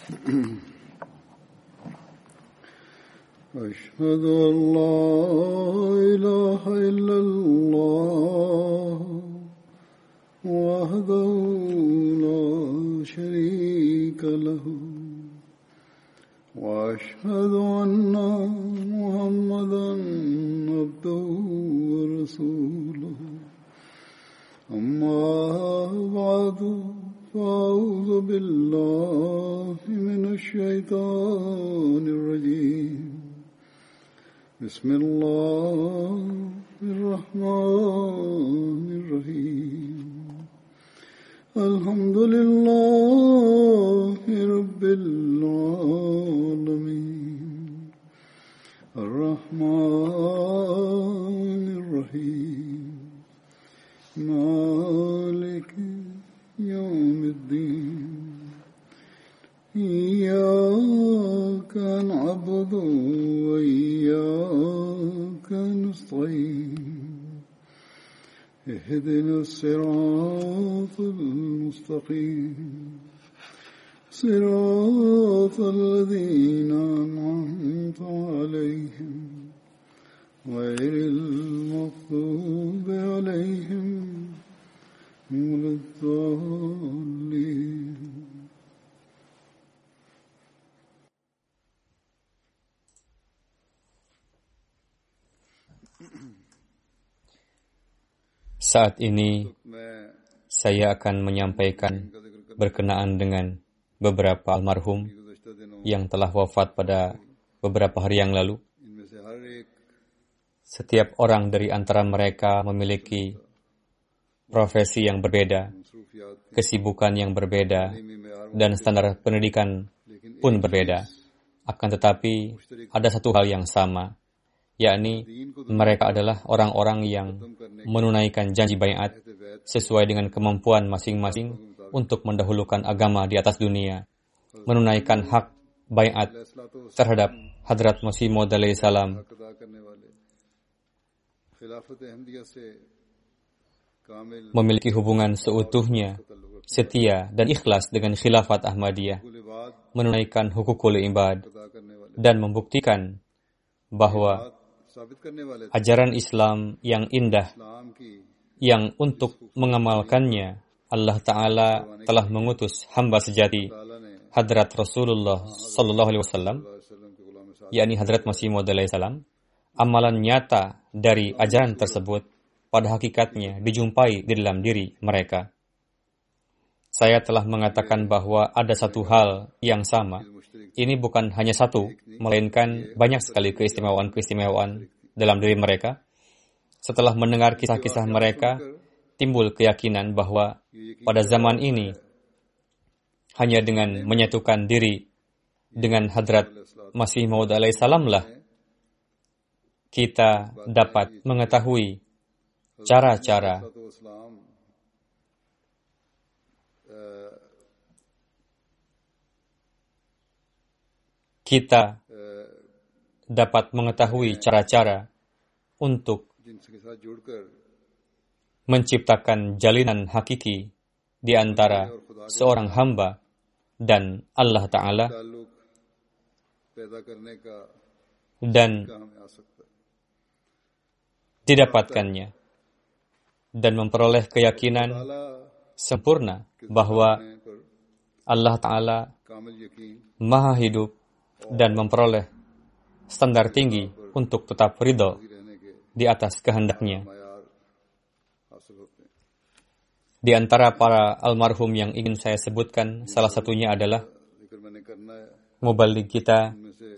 أشهد أن لا إله إلا الله وحده لا شريك له وأشهد أن محمدا عبده ورسوله أما بعد فأعوذ بالله من الشيطان الرجيم بسم الله الرحمن الرحيم الحمد لله رب العالمين الرحمن الرحيم مالك يوم الدين إياك نعبد وإياك نستعين اهدنا الصراط المستقيم صراط الذين أنعمت عليهم غير المغضوب عليهم ولا الضالين. Saat ini saya akan menyampaikan berkenaan dengan beberapa almarhum yang telah wafat pada beberapa hari yang lalu. Setiap orang dari antara mereka memiliki profesi yang berbeda, kesibukan yang berbeda, dan standar pendidikan pun berbeda. Akan tetapi ada satu hal yang sama, yakni mereka adalah orang-orang yang menunaikan janji baiat sesuai dengan kemampuan masing-masing untuk mendahulukan agama di atas dunia, menunaikan hak baiat terhadap Hadrat Masih Maud alaihi salam, memiliki hubungan seutuhnya, setia dan ikhlas dengan khilafat Ahmadiyah, menunaikan hukukul ibad, dan membuktikan bahwa ajaran Islam yang indah, yang untuk mengamalkannya Allah Ta'ala telah mengutus hamba sejati Hadrat Rasulullah Sallallahu Alaihi Wasallam, yakni Hadrat Masih Maud alaihi salam. Amalan nyata dari ajaran tersebut pada hakikatnya dijumpai di dalam diri mereka. Saya telah mengatakan bahwa ada satu hal yang sama. Ini bukan hanya satu, melainkan banyak sekali keistimewaan-keistimewaan dalam diri mereka. Setelah mendengar kisah-kisah mereka, timbul keyakinan bahwa pada zaman ini, hanya dengan menyatukan diri dengan Hadrat Masih Maud alaihi salam lah, kita dapat mengetahui cara-cara untuk menciptakan jalinan hakiki di antara seorang hamba dan Allah Ta'ala, dan didapatkannya dan memperoleh keyakinan sempurna bahwa Allah Ta'ala Maha Hidup dan memperoleh standar tinggi untuk tetap ridho di atas kehendaknya. Di antara para almarhum yang ingin saya sebutkan, salah satunya adalah muballigh kita,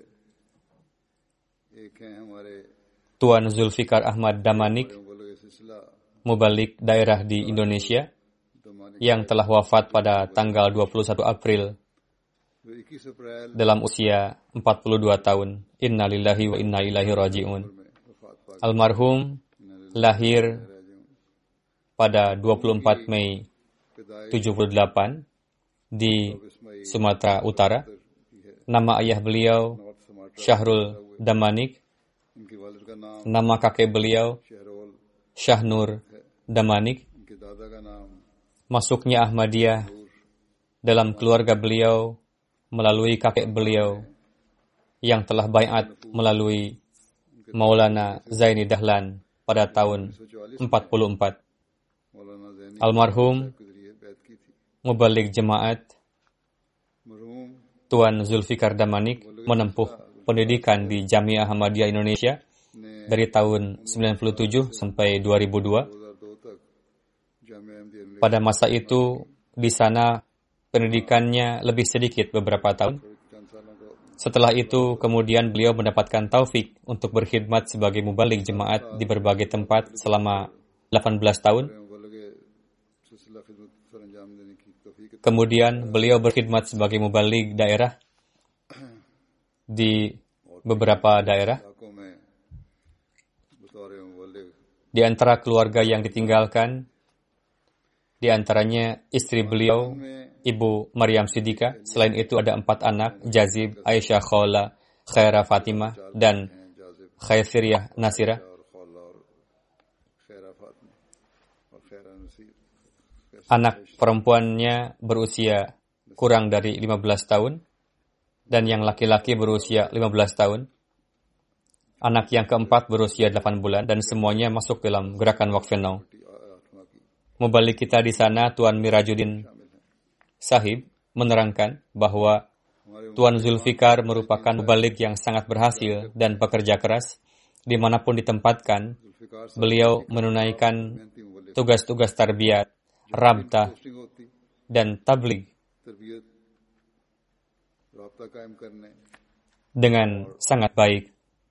Tuan Zulfikar Ahmad Damanik, muballigh daerah di Indonesia, yang telah wafat pada tanggal 21 April dalam usia 42 tahun. Inna lillahi wa inna ilaihi raji'un. Almarhum lahir pada 24 Mei 78 di Sumatera Utara. Nama ayah beliau Syahrul Damanik. Nama kakek beliau Syahnur Damanik. Masuknya Ahmadiyah dalam keluarga beliau melalui kakek beliau yang telah baiat melalui Maulana Zaini Dahlan pada tahun 44. मौलाना ज़ैनी Almarhum के जरिए बैत की थी। Mubalik Jemaat मरहूम Tuan Zulfikar Damanik menempuh pendidikan di Jamiah Ahmadiyah Indonesia ने dari tahun 97 sampai 2002. 2002 तक जामिया अहमदिया में Pada masa itu, di sana pendidikannya lebih sedikit beberapa tahun. चंद सालों को Setelah itu, kemudian beliau mendapatkan taufik untuk berkhidmat sebagai mubalik jemaat di berbagai tempat selama 18 tahun. मुबल्लिग सिलसिला खिदमत सर अंजाम देने की तौफीक Kemudian beliau berkhidmat sebagai mubalik daerah di beberapa daerah. इलाकों में बतौर मुबल्लिग Di antara keluarga yang ditinggalkan, di antaranya istri beliau, Ibu Maryam Siddiqah. Selain itu ada 4 anak, Jazib, Aisyah Khola, Khaira Fatimah, dan Khairiyah Nasirah. और खौला और खैरा फातिमा और खैरा Naseer Anak perempuannya berusia kurang dari 15 tahun, dan yang laki-laki berusia 15 tahun. Anak yang keempat berusia 8 bulan, dan semuanya masuk dalam gerakan Waqf Now. Mubalik kita di sana, Tuan Mirajuddin Sahib, menerangkan bahwa Tuan Zulfikar merupakan mubalik yang sangat berhasil dan pekerja keras. Dimanapun ditempatkan, beliau menunaikan tugas-tugas tarbiyat, rabtah, posting होती dan tabligh तरबियत राब्ता कायम करने dengan sangat baik.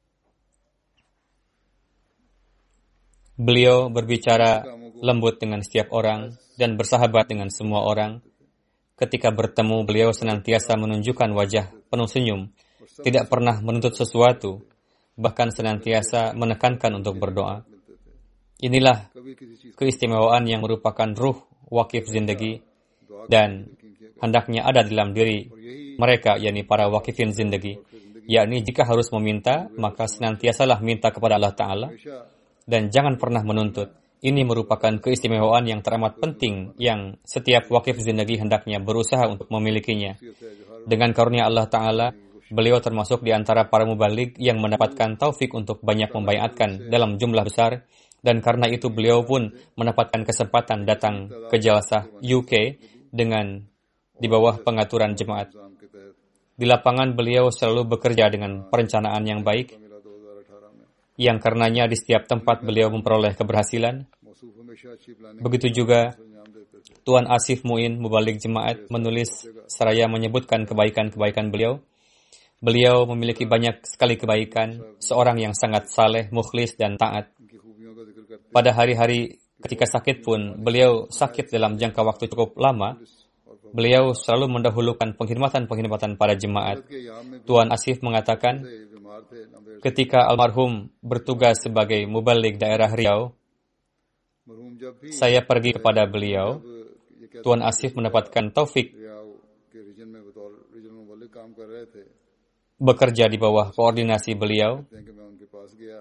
Beliau berbicara lembut dengan setiap orang dan bersahabat dengan semua orang. Ketika bertemu, beliau senantiasa menunjukkan wajah penuh senyum, tidak pernah menuntut sesuatu, bahkan senantiasa menekankan untuk berdoa. Inilah कभी किसी चीज keistimewaan yang merupakan ruh wakif zindagi dan hendaknya ada dalam diri mereka, yakni para wakifin zindagi. Yakni jika harus meminta, maka senantiasalah minta kepada Allah Ta'ala dan jangan pernah menuntut. Ini merupakan keistimewaan yang teramat penting yang setiap wakif zindagi hendaknya berusaha untuk memilikinya. Dengan karunia Allah Ta'ala, beliau termasuk di antara para mubalik yang mendapatkan taufik untuk banyak membaiatkan dalam jumlah besar, dan karena itu beliau pun mendapatkan kesempatan datang ke Jalsah UK dengan di bawah pengaturan jemaat. निजाम के तहत Di lapangan beliau selalu bekerja dengan perencanaan yang baik, मिला 2018 में yang karenanya di setiap tempat beliau memperoleh keberhasilan. मौसूफ हमेशा अच्छी planning Begitu juga अंजाम देते थे Tuan Asif Muin, mubalik jemaat, menulis seraya menyebutkan kebaikan-kebaikan beliau. Beliau memiliki banyak sekali kebaikan, seorang yang sangat saleh, mukhlis, dan taat. उनकी खूबियों का जिक्र करते Pada hari-hari ketika sakit pun, beliau sakit dalam jangka waktu cukup lama. Beliau selalu mendahulukan penghormatan-penghormatan pada jemaat. के यहाँ में Tuan Asif mengatakan, बीमार थे number ketika almarhum bertugas sebagai mubalik daerah Riau, मरहूम जब भी saya pergi kepada beliau. ये कहते Tuan Asif mendapatkan taufik रियाव के रीजन में बतौर रीजनल मुबल्लिग काम कर रहे थे bekerja di bawah koordinasi beliau. कहते हैं कि मैं उनके पास गया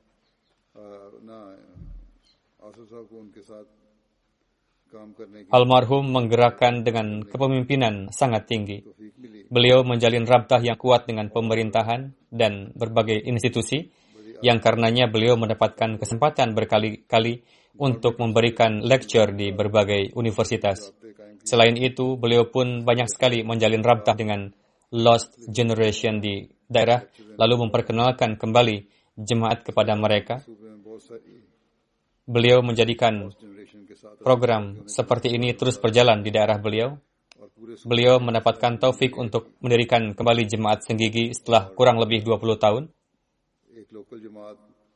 ना आसफ साहब को उनके साथ काम करने की Almarhum menggerakkan dengan kepemimpinan sangat tinggi. तौफीक मिली Beliau menjalin rabtah yang kuat dengan pemerintahan dan berbagai institusi, yang karenanya beliau mendapatkan kesempatan berkali-kali untuk memberikan lecture di berbagai universitas. Selain itu, beliau pun banyak sekali menjalin rabtah dengan Lost Generation di daerah, lalu memperkenalkan kembali jemaat kepada mereka. सूबे में बहुत सारी Beliau menjadikan generation के साथ program seperti ini terus berjalan di daerah beliau. और पूरे Beliau mendapatkan taufik untuk mendirikan kembali jemaat Senggigi setelah kurang lebih 20 tahun. एक लोकल जमात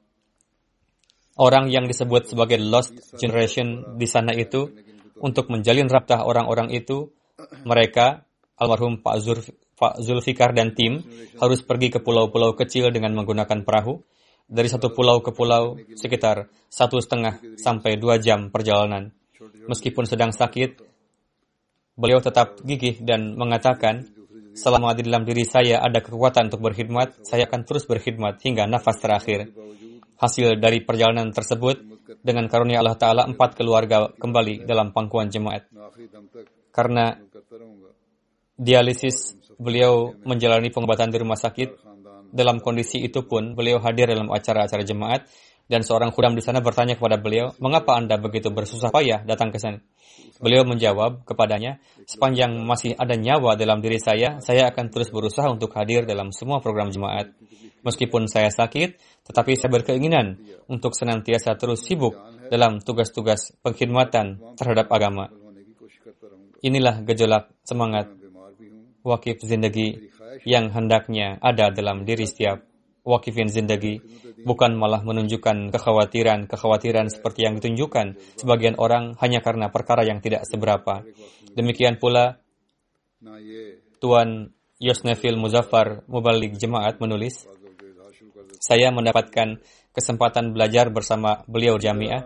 Orang yang disebut sebagai Lost Generation di sana itu, untuk menjalin rabtah orang-orang itu, mereka, almarhum Pak Zulfikar dan tim, harus pergi ke pulau-pulau kecil dengan menggunakan perahu. Dari satu pulau ke pulau, sekitar 1,5 sampai 2 jam perjalanan. Meskipun sedang sakit, beliau tetap gigih dan mengatakan, selama di dalam diri saya ada kekuatan untuk berkhidmat, saya akan terus berkhidmat hingga nafas terakhir. Hasil dari perjalanan tersebut, dengan karunia Allah Ta'ala, 4 keluarga kembali dalam pangkuan jemaat. आखिरी दम तक Karena करता रहूंगा dialisis beliau menjalani pengobatan di rumah sakit. Dalam kondisi itu pun, beliau hadir dalam acara-acara jemaat, dan seorang khudam di sana bertanya kepada beliau, mengapa Anda begitu bersusah payah datang ke sana? Beliau menjawab kepadanya, sepanjang masih ada nyawa dalam diri saya akan terus berusaha untuk hadir dalam semua program jemaat. Meskipun saya sakit, tetapi saya berkeinginan untuk senantiasa terus sibuk dalam tugas-tugas pengkhidmatan terhadap agama. Inilah gejolak semangat wakif zindagi yang hendaknya ada dalam diri setiap wakifin zindagi, bukan malah menunjukkan kekhawatiran seperti yang ditunjukkan sebagian orang hanya karena perkara yang tidak seberapa. Demikian pula Tuan Yosnefil Muzaffar Mubalik Jemaat menulis, saya mendapatkan kesempatan belajar bersama beliau jamiah.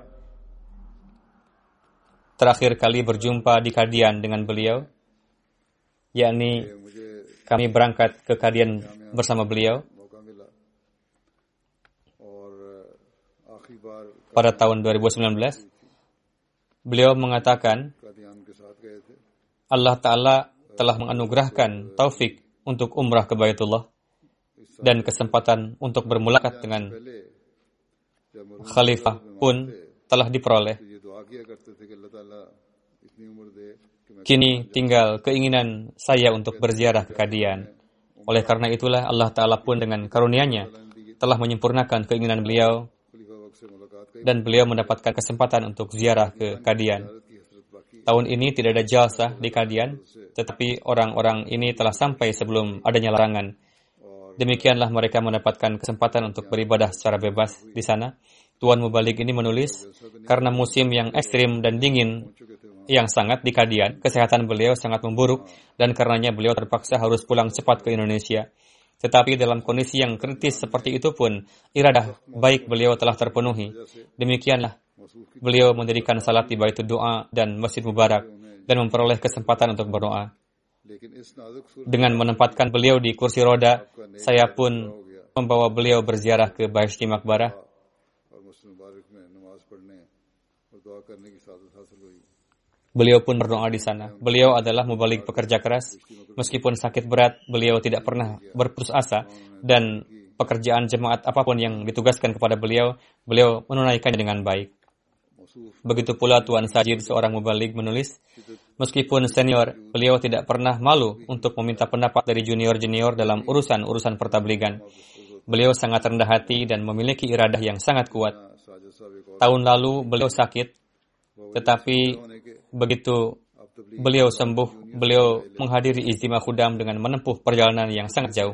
Terakhir kali berjumpa di Kadian dengan beliau, yakni kami berangkat ke Kadian bersama beliau pada tahun 2019. Beliau mengatakan, Allah Ta'ala telah menganugerahkan taufik untuk umrah ke Baitullah dan kesempatan untuk bermulakat dengan khalifah pun telah diperoleh. Kini tinggal keinginan saya untuk berziarah ke Kadian. Oleh karena itulah Allah Ta'ala pun dengan karunia-Nya telah menyempurnakan keinginan beliau dan beliau mendapatkan kesempatan untuk ziarah ke Kadian. Tahun ini tidak ada jalsah di Kadian, tetapi orang-orang ini telah sampai sebelum adanya larangan. Demikianlah mereka mendapatkan kesempatan untuk beribadah secara bebas di sana. Tuan Mubalik ini menulis, karena musim yang ekstrim dan dingin yang sangat di Kadian, kesehatan beliau sangat memburuk dan karenanya beliau terpaksa harus pulang cepat ke Indonesia. Tetapi dalam kondisi yang kritis seperti itu pun, iradah baik beliau telah terpenuhi. Demikianlah, beliau mendirikan salat di Baitul Doa dan Masjid Mubarak dan memperoleh kesempatan untuk berdoa. Dengan menempatkan beliau di kursi roda, saya pun membawa beliau berziarah ke Bahishti Maqbarah. Beliau pun berdoa di sana. Beliau adalah mubalik pekerja keras. Meskipun sakit berat, beliau tidak pernah berputus asa dan pekerjaan jemaat apapun yang ditugaskan kepada beliau, beliau menunaikannya dengan baik. Begitu pula Tuan Sajid, seorang mubalik, menulis, meskipun senior, beliau tidak pernah malu untuk meminta pendapat dari junior-junior dalam urusan-urusan pertabligan. Beliau sangat rendah hati dan memiliki iradah yang sangat kuat. Tahun lalu beliau sakit, tetapi begitu beliau sembuh, beliau menghadiri Ijtima Khudam dengan menempuh perjalanan yang sangat jauh.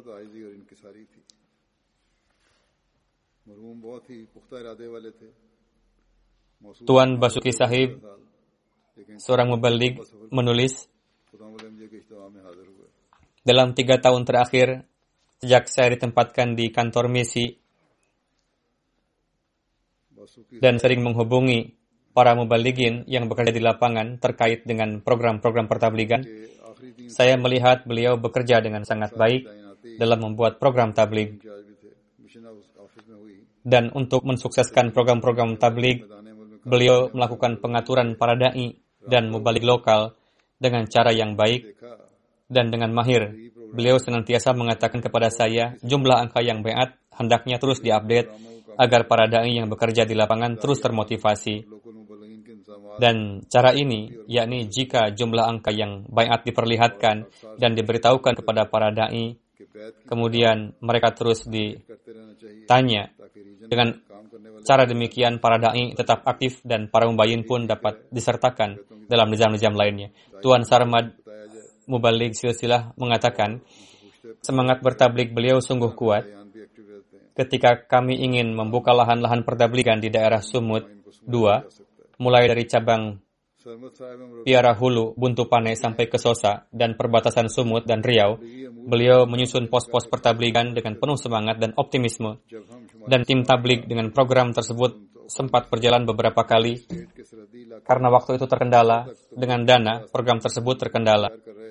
Tuan Basuki Sahib, seorang mubalik, menulis, dalam 3 tahun terakhir, sejak saya ditempatkan di kantor misi dan sering menghubungi para mubaligin yang bekerja di lapangan terkait dengan program-program pertabligan, saya melihat beliau bekerja dengan sangat baik dalam membuat program tablig. Dan untuk mensukseskan program-program tablig, beliau melakukan pengaturan para da'i dan mubalik lokal dengan cara yang baik dan dengan mahir. Beliau senantiasa mengatakan kepada saya, jumlah angka yang baiat hendaknya terus diupdate agar para da'i yang bekerja di lapangan terus termotivasi. Dan cara ini, yakni jika jumlah angka yang baiat diperlihatkan dan diberitahukan kepada para da'i, kemudian mereka terus ditanya. Dengan cara demikian, para da'i tetap aktif dan para mubayyin pun dapat disertakan dalam nizam-nizam lainnya. Tuan Sarmad Mubalik Silsilah mengatakan, semangat bertablik beliau sungguh kuat. Ketika kami ingin membuka lahan-lahan pertabligan di daerah Sumut 2, mulai dari cabang Piara Hulu, Buntu Pane sampai ke Sosa dan perbatasan Sumut dan Riau, beliau menyusun pos-pos pertabligan dengan penuh semangat dan optimisme. Dan tim tablig dengan program tersebut sempat berjalan beberapa kali karena waktu itu terkendala dengan dana, program tersebut terkendala.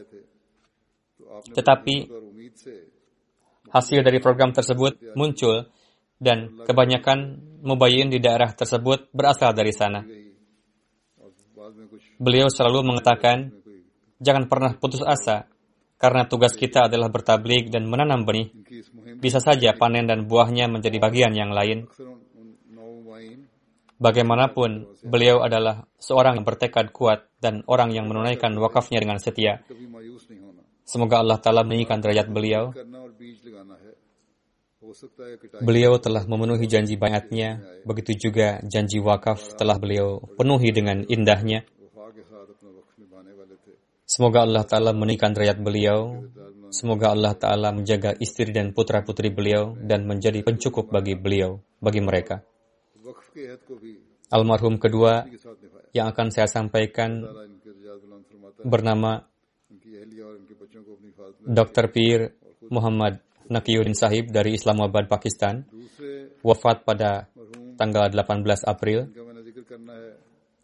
Tetapi hasil dari program tersebut muncul dan kebanyakan mubayyin di daerah tersebut berasal dari sana. Beliau selalu mengatakan, jangan pernah putus asa Karena tugas kita adalah bertabligh dan menanam benih, इनकी इस मुहिम bisa saja panen dan buahnya menjadi bagian yang lain. अक्सर उन नौवाइन Bagaimanapun, beliau adalah seorang yang bertekad kuat dan orang yang menunaikan wakafnya dengan setia. कभी मायूस नहीं होना, Semoga Allah Ta'ala meninggikan derajat beliau. करना और बीज लगाना है। हो सकता है कि Beliau telah memenuhi janji bayatnya, begitu juga janji wakaf telah beliau penuhi dengan indahnya. वफा के साथ अपना वक्त निभाने वाले थे। Semoga Allah Ta'ala meninggikan derajat beliau. Semoga Allah Ta'ala menjaga istri dan putra-putri beliau dan menjadi pencukup bagi beliau, bagi mereka. वक्फ के अहद को भी Almarhum kedua के साथ निभाया। yang akan saya sampaikan ताला इनके रजातुल्लाह फरमाता है, bernama इनकी अहलिया और इनके बच्चों को अपनी हिफाजत में। Dr. Pir Muhammad Nakiyuddin Sahib dari Islamabad, Pakistan, दूसरे wafat pada मरहूम tanggal 18 April. जिनका मैंने जिक्र करना है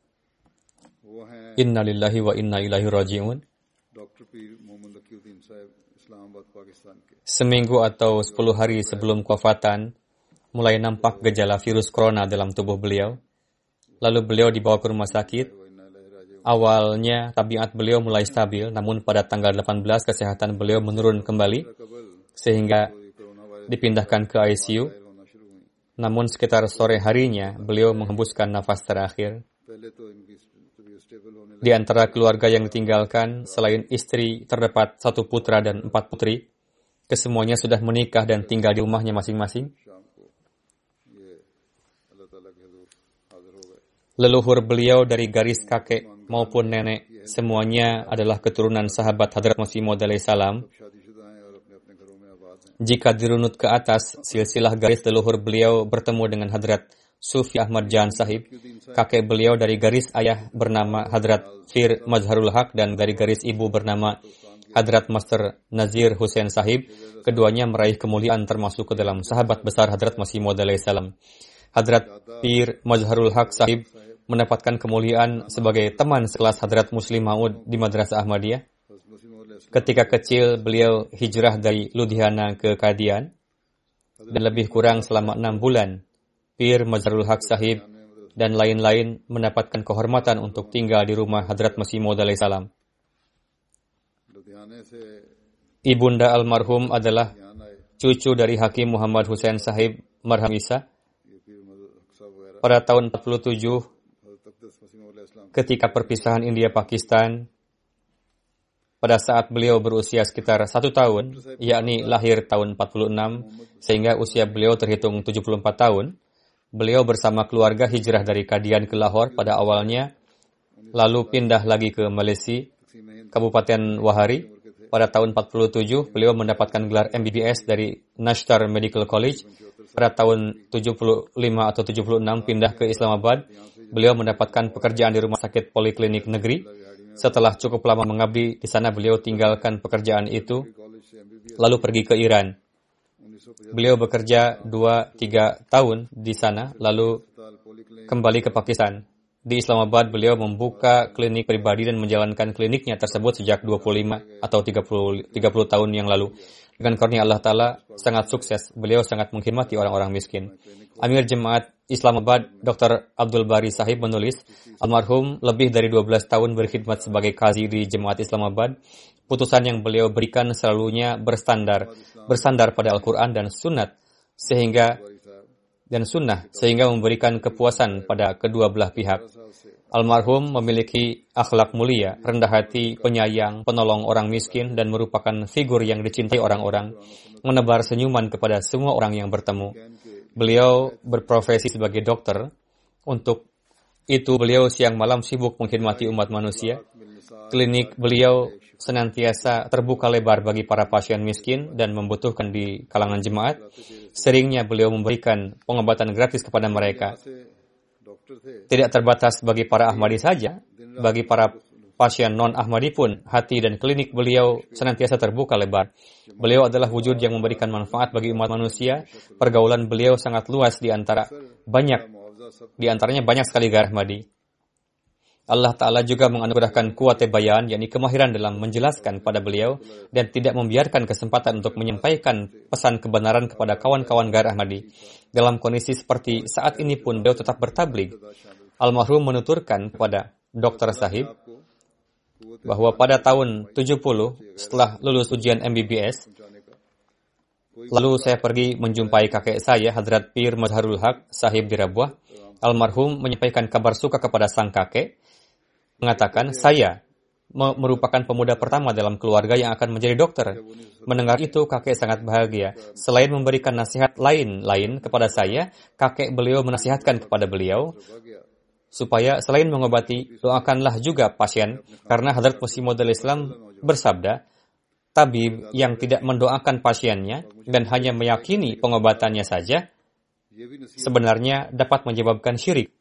वो हैं Inna lillahi wa inna ilaihi raji'un. Doctor पीर मोहम्मद नकीउद्दीन साहब, इस्लामाबाद, पाकिस्तान के। Seminggu atau 10 hari sebelum kewafatan, mulai nampak gejala virus corona dalam tubuh beliau. Lalu beliau dibawa ke rumah sakit. वो इन्ना इलाही राजिऊन। Awalnya tabiat beliau mulai stabil, namun pada tanggal 18 kesehatan beliau menurun kembali कबल sehingga कोई corona virus dipindahkan ke ICU. जाहिर होना शुरू हुई। Namun sekitar sore harinya beliau menghembuskan nafas terakhir. पहले तो इनकी तबीयत स्टेबल होने Di antara keluarga yang ditinggalkan, selain istri, terdapat 1 putra dan 4 putri. Kesemuanya sudah menikah dan tinggal di rumahnya masing-masing. शाम को ये अल्लाह ताला के हुजूर हाजिर हो गए। Leluhur beliau dari garis kakek maupun nenek, semuanya adalah keturunan sahabat Hadrat Masih Maud alaihi salam. शादीशुदा हैं और अपने अपने घरों में आबाद हैं। Jika dirunut ke atas, silsilah garis leluhur beliau bertemu dengan Hadrat Sufi Ahmad Jan Sahib. Kakek beliau dari garis ayah bernama Hadrat Fir Mazharul Haq dan dari garis ibu bernama Hadrat Master Nazir Hussain Sahib. Keduanya meraih kemuliaan termasuk ke dalam sahabat besar Hadrat Masih Maud alaihi salam. Hadrat Pir Mazharul Haq Sahib mendapatkan kemuliaan sebagai teman sekelas Hadrat Muslim Maud di Madrasah Ahmadiyah. हज़रत मसीह मौद अलैहि Ketika kecil, beliau hijrah dari Ludhiana ke Qadian dan lebih kurang selama 6 bulan. Pir Mazharul Haq Sahib dan lain-lain mendapatkan kehormatan untuk tinggal di rumah Hadrat Masih Maud alaihi salam. लुधियाने से Ibunda almarhum adalah यहाँ आए। cucu dari Hakim Muhammad Hussain Sahib Marham Isa. ये पीर मज़हर साहब वगैरह Pada tahun 47, हज़रत अक़दस मसीह मौद अलैहि सलाम ketika perpisahan India-Pakistan, pada saat beliau berusia sekitar 1 tahun, yakni lahir tahun 46, sehingga usia beliau terhitung 74 tahun, beliau bersama keluarga hijrah dari Qadian ke Lahore pada awalnya, lalu pindah lagi ke Malaysia, Kabupaten Wahari. Pada tahun 47, beliau mendapatkan gelar MBBS dari Nashtar Medical College. Pada tahun 75 atau 76 pindah ke Islamabad. Beliau mendapatkan pekerjaan di rumah sakit poliklinik negeri. Setelah cukup lama mengabdi di sana, beliau tinggalkan pekerjaan itu, lalu pergi ke Iran. Beliau bekerja 2-3 tahun di sana, lalu kembali ke Pakistan. Di Islamabad, beliau membuka klinik pribadi dan menjalankan kliniknya tersebut sejak 25 atau 30 tahun yang lalu. Dengan karunia Allah Ta'ala sangat sukses. Beliau sangat menghormati orang-orang miskin. Amir Jemaat Islamabad, Dr. Abdul Bari Sahib menulis, almarhum lebih dari 12 tahun berkhidmat sebagai qazi di Jemaat Islamabad. Putusan yang beliau berikan selalunya bersandar pada Al-Quran dan Sunnah, sehingga memberikan kepuasan pada kedua belah pihak. Almarhum memiliki akhlak mulia, rendah hati, penyayang, penolong orang miskin, dan merupakan figur yang dicintai orang-orang, menebar senyuman kepada semua orang yang bertemu. Beliau berprofesi sebagai dokter. Untuk itu beliau siang malam sibuk mengkhidmati umat manusia. Klinik beliau senantiasa terbuka lebar bagi para pasien miskin dan membutuhkan di kalangan jemaat. Seringnya beliau memberikan pengobatan gratis kepada mereka. Tidak terbatas bagi para Ahmadi saja, bagi para pasien non-Ahmadi pun, hati dan klinik beliau senantiasa terbuka lebar. Beliau adalah wujud yang memberikan manfaat bagi umat manusia. Pergaulan beliau sangat luas di antaranya banyak sekali gairah Ahmadi. Allah Ta'ala juga menganugerahkan kuwat bayan, yakni kemahiran dalam menjelaskan pada beliau dan tidak membiarkan kesempatan untuk menyampaikan pesan kebenaran kepada kawan-kawan gairah Ahmadi. Dalam kondisi seperti saat ini pun beliau tetap bertabligh. Almarhum menuturkan kepada Dr. Sahib, bahwa pada tahun 70 setelah lulus ujian MBBS, lalu saya pergi menjumpai kakek saya, Hadrat Pir Mazharul Haq Sahib di Rabwah. Almarhum menyampaikan kabar suka kepada sang kakek, mengatakan, saya merupakan pemuda pertama dalam keluarga yang akan menjadi dokter. Mendengar itu, kakek sangat bahagia. Selain memberikan nasihat lain-lain kepada saya, kakek beliau menasihatkan kepada beliau, supaya selain mengobati, doakanlah juga pasien, karena Hadrat Masih Maud Islam bersabda, tabib yang tidak mendoakan pasiennya dan hanya meyakini pengobatannya saja, sebenarnya dapat menyebabkan syirik.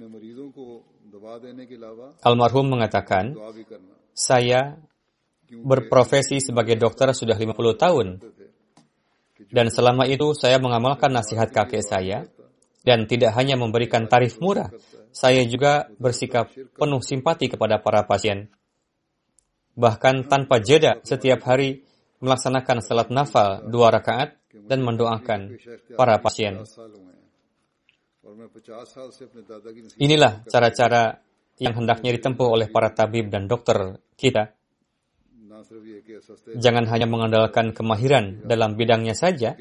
Almarhum mengatakan, saya berprofesi sebagai dokter sudah 50 tahun, dan selama itu saya mengamalkan nasihat kakek saya, dan tidak hanya memberikan tarif murah, saya juga bersikap penuh simpati kepada para pasien. Bahkan tanpa jeda setiap hari melaksanakan salat nafal 2 rakaat dan mendoakan para pasien. Inilah cara-cara yang hendaknya ditempuh oleh para tabib dan dokter kita. Jangan hanya mengandalkan kemahiran dalam bidangnya saja,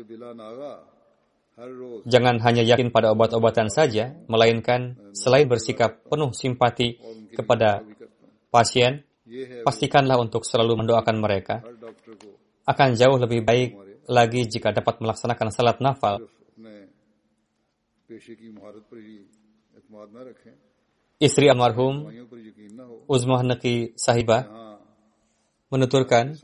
jangan hanya yakin pada obat-obatan saja, melainkan selain bersikap penuh simpati kepada pasien, pastikanlah untuk selalu mendoakan mereka. Akan jauh lebih baik lagi jika dapat melaksanakan salat nafal. Istri almarhum, Uzmah Naqi Sahibah, menuturkan,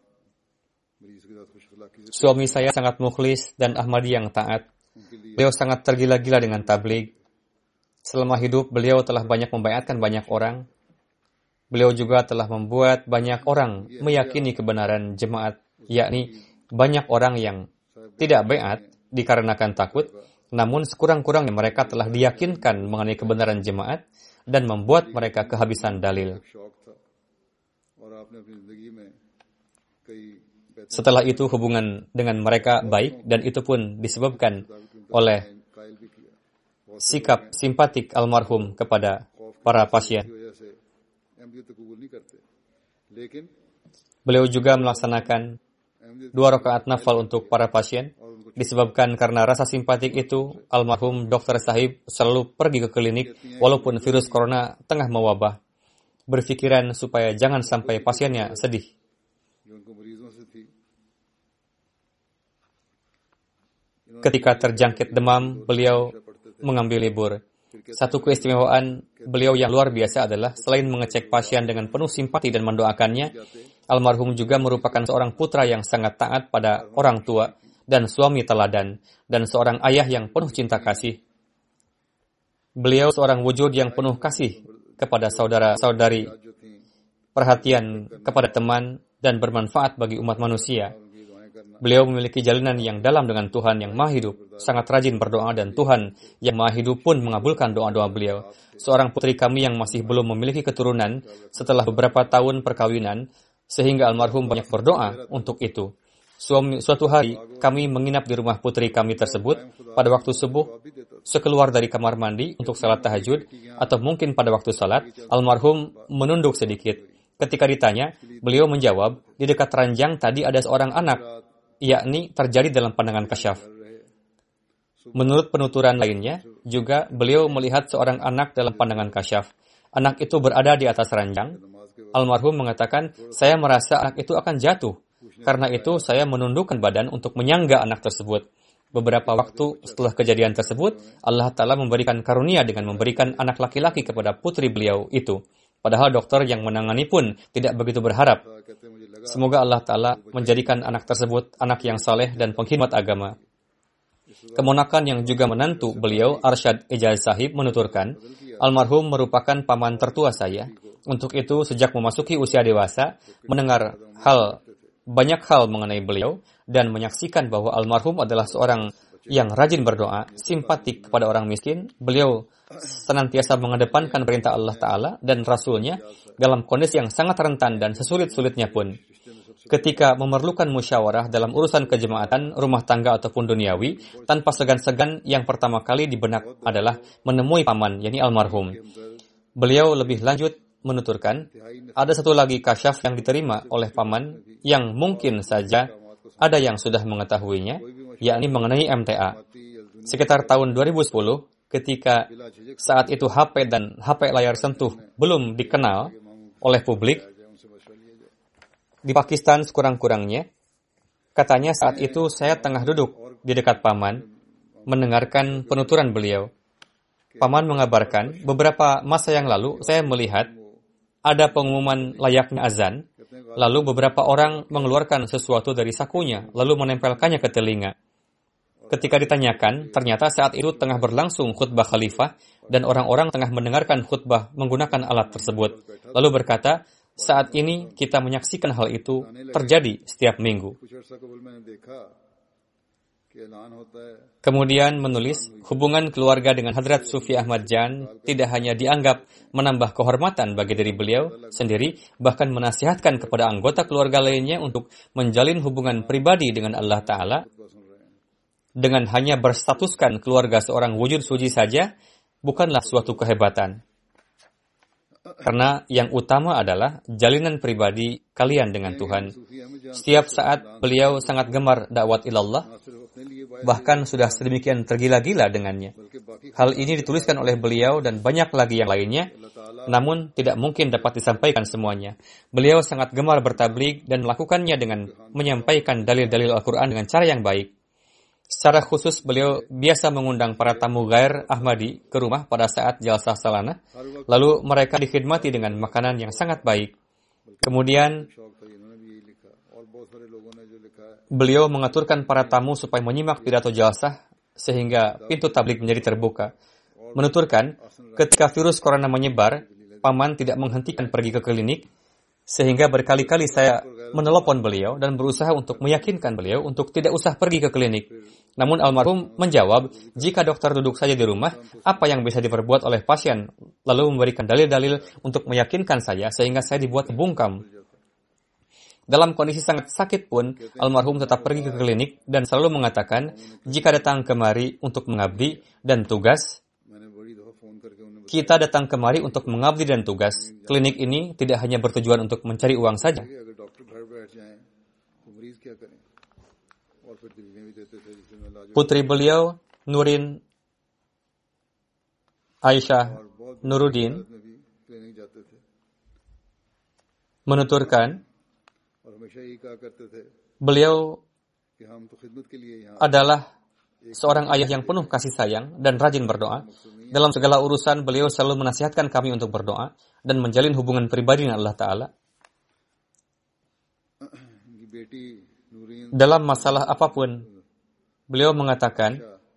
suami saya sangat mukhlis dan Ahmadi yang taat. Beliau sangat tergila-gila dengan tabligh. Selama hidup, beliau telah banyak membaiatkan banyak orang. Beliau juga telah membuat banyak orang meyakini kebenaran jemaat, yakni banyak orang yang tidak baiat dikarenakan takut, namun sekurang-kurangnya mereka telah diyakinkan mengenai kebenaran jemaat dan membuat mereka kehabisan dalil. Setelah itu hubungan dengan mereka baik, dan itu pun disebabkan oleh sikap simpatik almarhum kepada para pasien. Beliau juga melaksanakan 2 rakaat nafal untuk para pasien. Disebabkan karena rasa simpatik itu, almarhum Dr. Sahib selalu pergi ke klinik walaupun virus corona tengah mewabah, berfikiran supaya jangan sampai pasiennya sedih. Ketika terjangkit demam, beliau mengambil libur. Satu keistimewaan beliau yang luar biasa adalah selain mengecek pasien dengan penuh simpati dan mendoakannya, almarhum juga merupakan seorang putra yang sangat taat pada orang tua dan suami teladan, dan seorang ayah yang penuh cinta kasih. Beliau seorang wujud yang penuh kasih kepada saudara-saudari, perhatian kepada teman, dan bermanfaat bagi umat manusia. Beliau memiliki jalinan yang dalam dengan Tuhan yang Maha Hidup, sangat rajin berdoa, dan Tuhan yang Maha Hidup pun mengabulkan doa-doa beliau. Seorang putri kami yang masih belum memiliki keturunan setelah beberapa tahun perkawinan, sehingga almarhum banyak berdoa untuk itu. Suatu hari, kami menginap di rumah putri kami tersebut. Pada waktu subuh, sekeluar dari kamar mandi untuk salat tahajud, atau mungkin pada waktu salat, almarhum menunduk sedikit. Ketika ditanya, beliau menjawab, di dekat ranjang tadi ada seorang anak, yakni terjadi dalam pandangan kasyaf. Menurut penuturan lainnya, juga beliau melihat seorang anak dalam pandangan kasyaf. Anak itu berada di atas ranjang. Almarhum mengatakan, saya merasa anak itu akan jatuh. Karena itu, saya menundukkan badan untuk menyangga anak tersebut. Beberapa waktu setelah kejadian tersebut, Allah Ta'ala memberikan karunia dengan memberikan anak laki-laki kepada putri beliau itu. Padahal dokter yang menangani pun tidak begitu berharap. Semoga Allah Ta'ala menjadikan anak tersebut anak yang saleh dan pengkhidmat agama. Keponakan yang juga menantu beliau, Arsyad Ijaz Sahib, menuturkan, almarhum merupakan paman tertua saya. Untuk itu, sejak memasuki usia dewasa, mendengar banyak hal mengenai beliau, dan menyaksikan bahwa almarhum adalah seorang yang rajin berdoa, simpatik kepada orang miskin. Beliau senantiasa mengedepankan perintah Allah Ta'ala dan Rasulnya dalam kondisi yang sangat rentan dan sesulit-sulitnya pun. Ketika memerlukan musyawarah dalam urusan kejemaatan, rumah tangga ataupun duniawi, tanpa segan-segan yang pertama kali di benak adalah menemui paman, yakni almarhum. Beliau lebih lanjut menuturkan, ada satu lagi kasyaf yang diterima oleh paman yang mungkin saja ada yang sudah mengetahuinya, yakni mengenai MTA. Sekitar tahun 2010, ketika saat itu HP dan HP layar sentuh belum dikenal oleh publik, di Pakistan sekurang-kurangnya, katanya saat itu saya tengah duduk di dekat paman, mendengarkan penuturan beliau. Paman mengabarkan, beberapa masa yang lalu saya melihat ada pengumuman layaknya azan, lalu beberapa orang mengeluarkan sesuatu dari sakunya, lalu menempelkannya ke telinga. Ketika ditanyakan, ternyata saat itu tengah berlangsung khutbah khalifah dan orang-orang tengah mendengarkan khutbah menggunakan alat tersebut. Lalu berkata, saat ini kita menyaksikan hal itu terjadi setiap minggu. Kemudian menulis, hubungan keluarga dengan Hadrat Sufi Ahmad Jan tidak hanya dianggap menambah kehormatan bagi diri beliau sendiri, bahkan menasihatkan kepada anggota keluarga lainnya untuk menjalin hubungan pribadi dengan Allah Ta'ala. Dengan hanya berstatuskan keluarga seorang wujud suci saja, bukanlah suatu kehebatan. Karena yang utama adalah jalinan pribadi kalian dengan Tuhan. Setiap saat beliau sangat gemar dakwat ilallah, bahkan sudah sedemikian tergila-gila dengannya. Hal ini dituliskan oleh beliau dan banyak lagi yang lainnya, namun tidak mungkin dapat disampaikan semuanya. Beliau sangat gemar bertabligh dan melakukannya dengan menyampaikan dalil-dalil Al-Quran dengan cara yang baik. Secara khusus, beliau biasa mengundang para tamu Ghair Ahmadi ke rumah pada saat jalsah salanah, lalu mereka dikhidmati dengan makanan yang sangat baik. Kemudian, beliau mengaturkan para tamu supaya menyimak pidato jalsah, sehingga pintu tabligh menjadi terbuka. Menuturkan, ketika virus corona menyebar, paman tidak menghentikan pergi ke klinik, sehingga berkali-kali saya menelepon beliau dan berusaha untuk meyakinkan beliau untuk tidak usah pergi ke klinik. Namun almarhum menjawab, jika dokter duduk saja di rumah, apa yang bisa diperbuat oleh pasien? Lalu memberikan dalil-dalil untuk meyakinkan saya, sehingga saya dibuat bungkam. Dalam kondisi sangat sakit pun, almarhum tetap pergi ke klinik dan selalu mengatakan, jika datang kemari untuk mengabdi dan tugas, kita datang kemari untuk mengabdi dan tugas. Klinik ini tidak hanya bertujuan untuk mencari uang saja. Putri beliau, Nurin Aisyah Nuruddin, menuturkan, beliau adalah seorang ayah yang penuh kasih sayang dan rajin berdoa. Dalam segala urusan, beliau selalu menasihatkan kami untuk berdoa dan menjalin hubungan pribadi dengan Allah Ta'ala. Dalam masalah apapun, beliau mengatakan,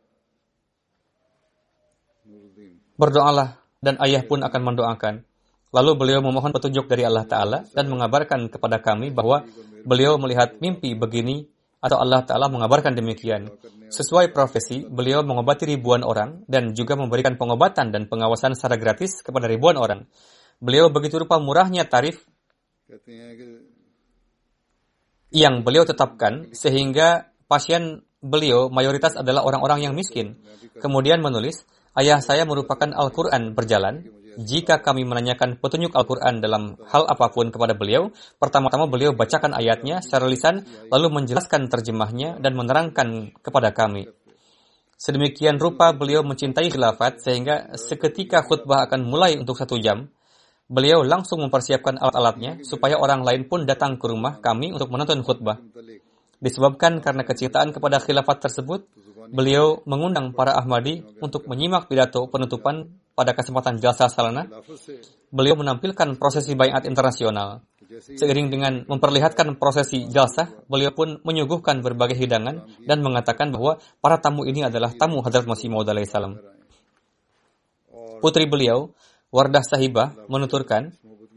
berdoalah dan ayah pun akan mendoakan. Lalu beliau memohon petunjuk dari Allah Ta'ala dan mengabarkan kepada kami bahwa beliau melihat mimpi begini atau Allah Ta'ala mengabarkan demikian. Sesuai profesi, beliau mengobati ribuan orang dan juga memberikan pengobatan dan pengawasan secara gratis kepada ribuan orang. Beliau begitu rupa murahnya tarif yang beliau tetapkan sehingga pasien beliau mayoritas adalah orang-orang yang miskin. Kemudian menulis, ayah saya merupakan Al-Quran berjalan. Jika kami menanyakan petunjuk Al-Quran dalam hal apapun kepada beliau, pertama-tama beliau bacakan ayatnya secara lisan, lalu menjelaskan terjemahnya dan menerangkan kepada kami. Sedemikian rupa beliau mencintai khilafat sehingga seketika khutbah akan mulai untuk 1 jam, beliau langsung mempersiapkan alat-alatnya supaya orang lain pun datang ke rumah kami untuk menonton khutbah. Disebabkan karena kecintaan kepada khilafat tersebut, beliau mengundang para Ahmadi untuk menyimak pidato penutupan pada kesempatan jalsah salanah. Beliau menampilkan prosesi baiat internasional. Seiring dengan memperlihatkan prosesi jalsah, beliau pun menyuguhkan berbagai hidangan dan mengatakan bahwa para tamu ini adalah tamu Hadrat Masih Maud alaihi salam. Putri beliau, Wardah Sahibah, menuturkan,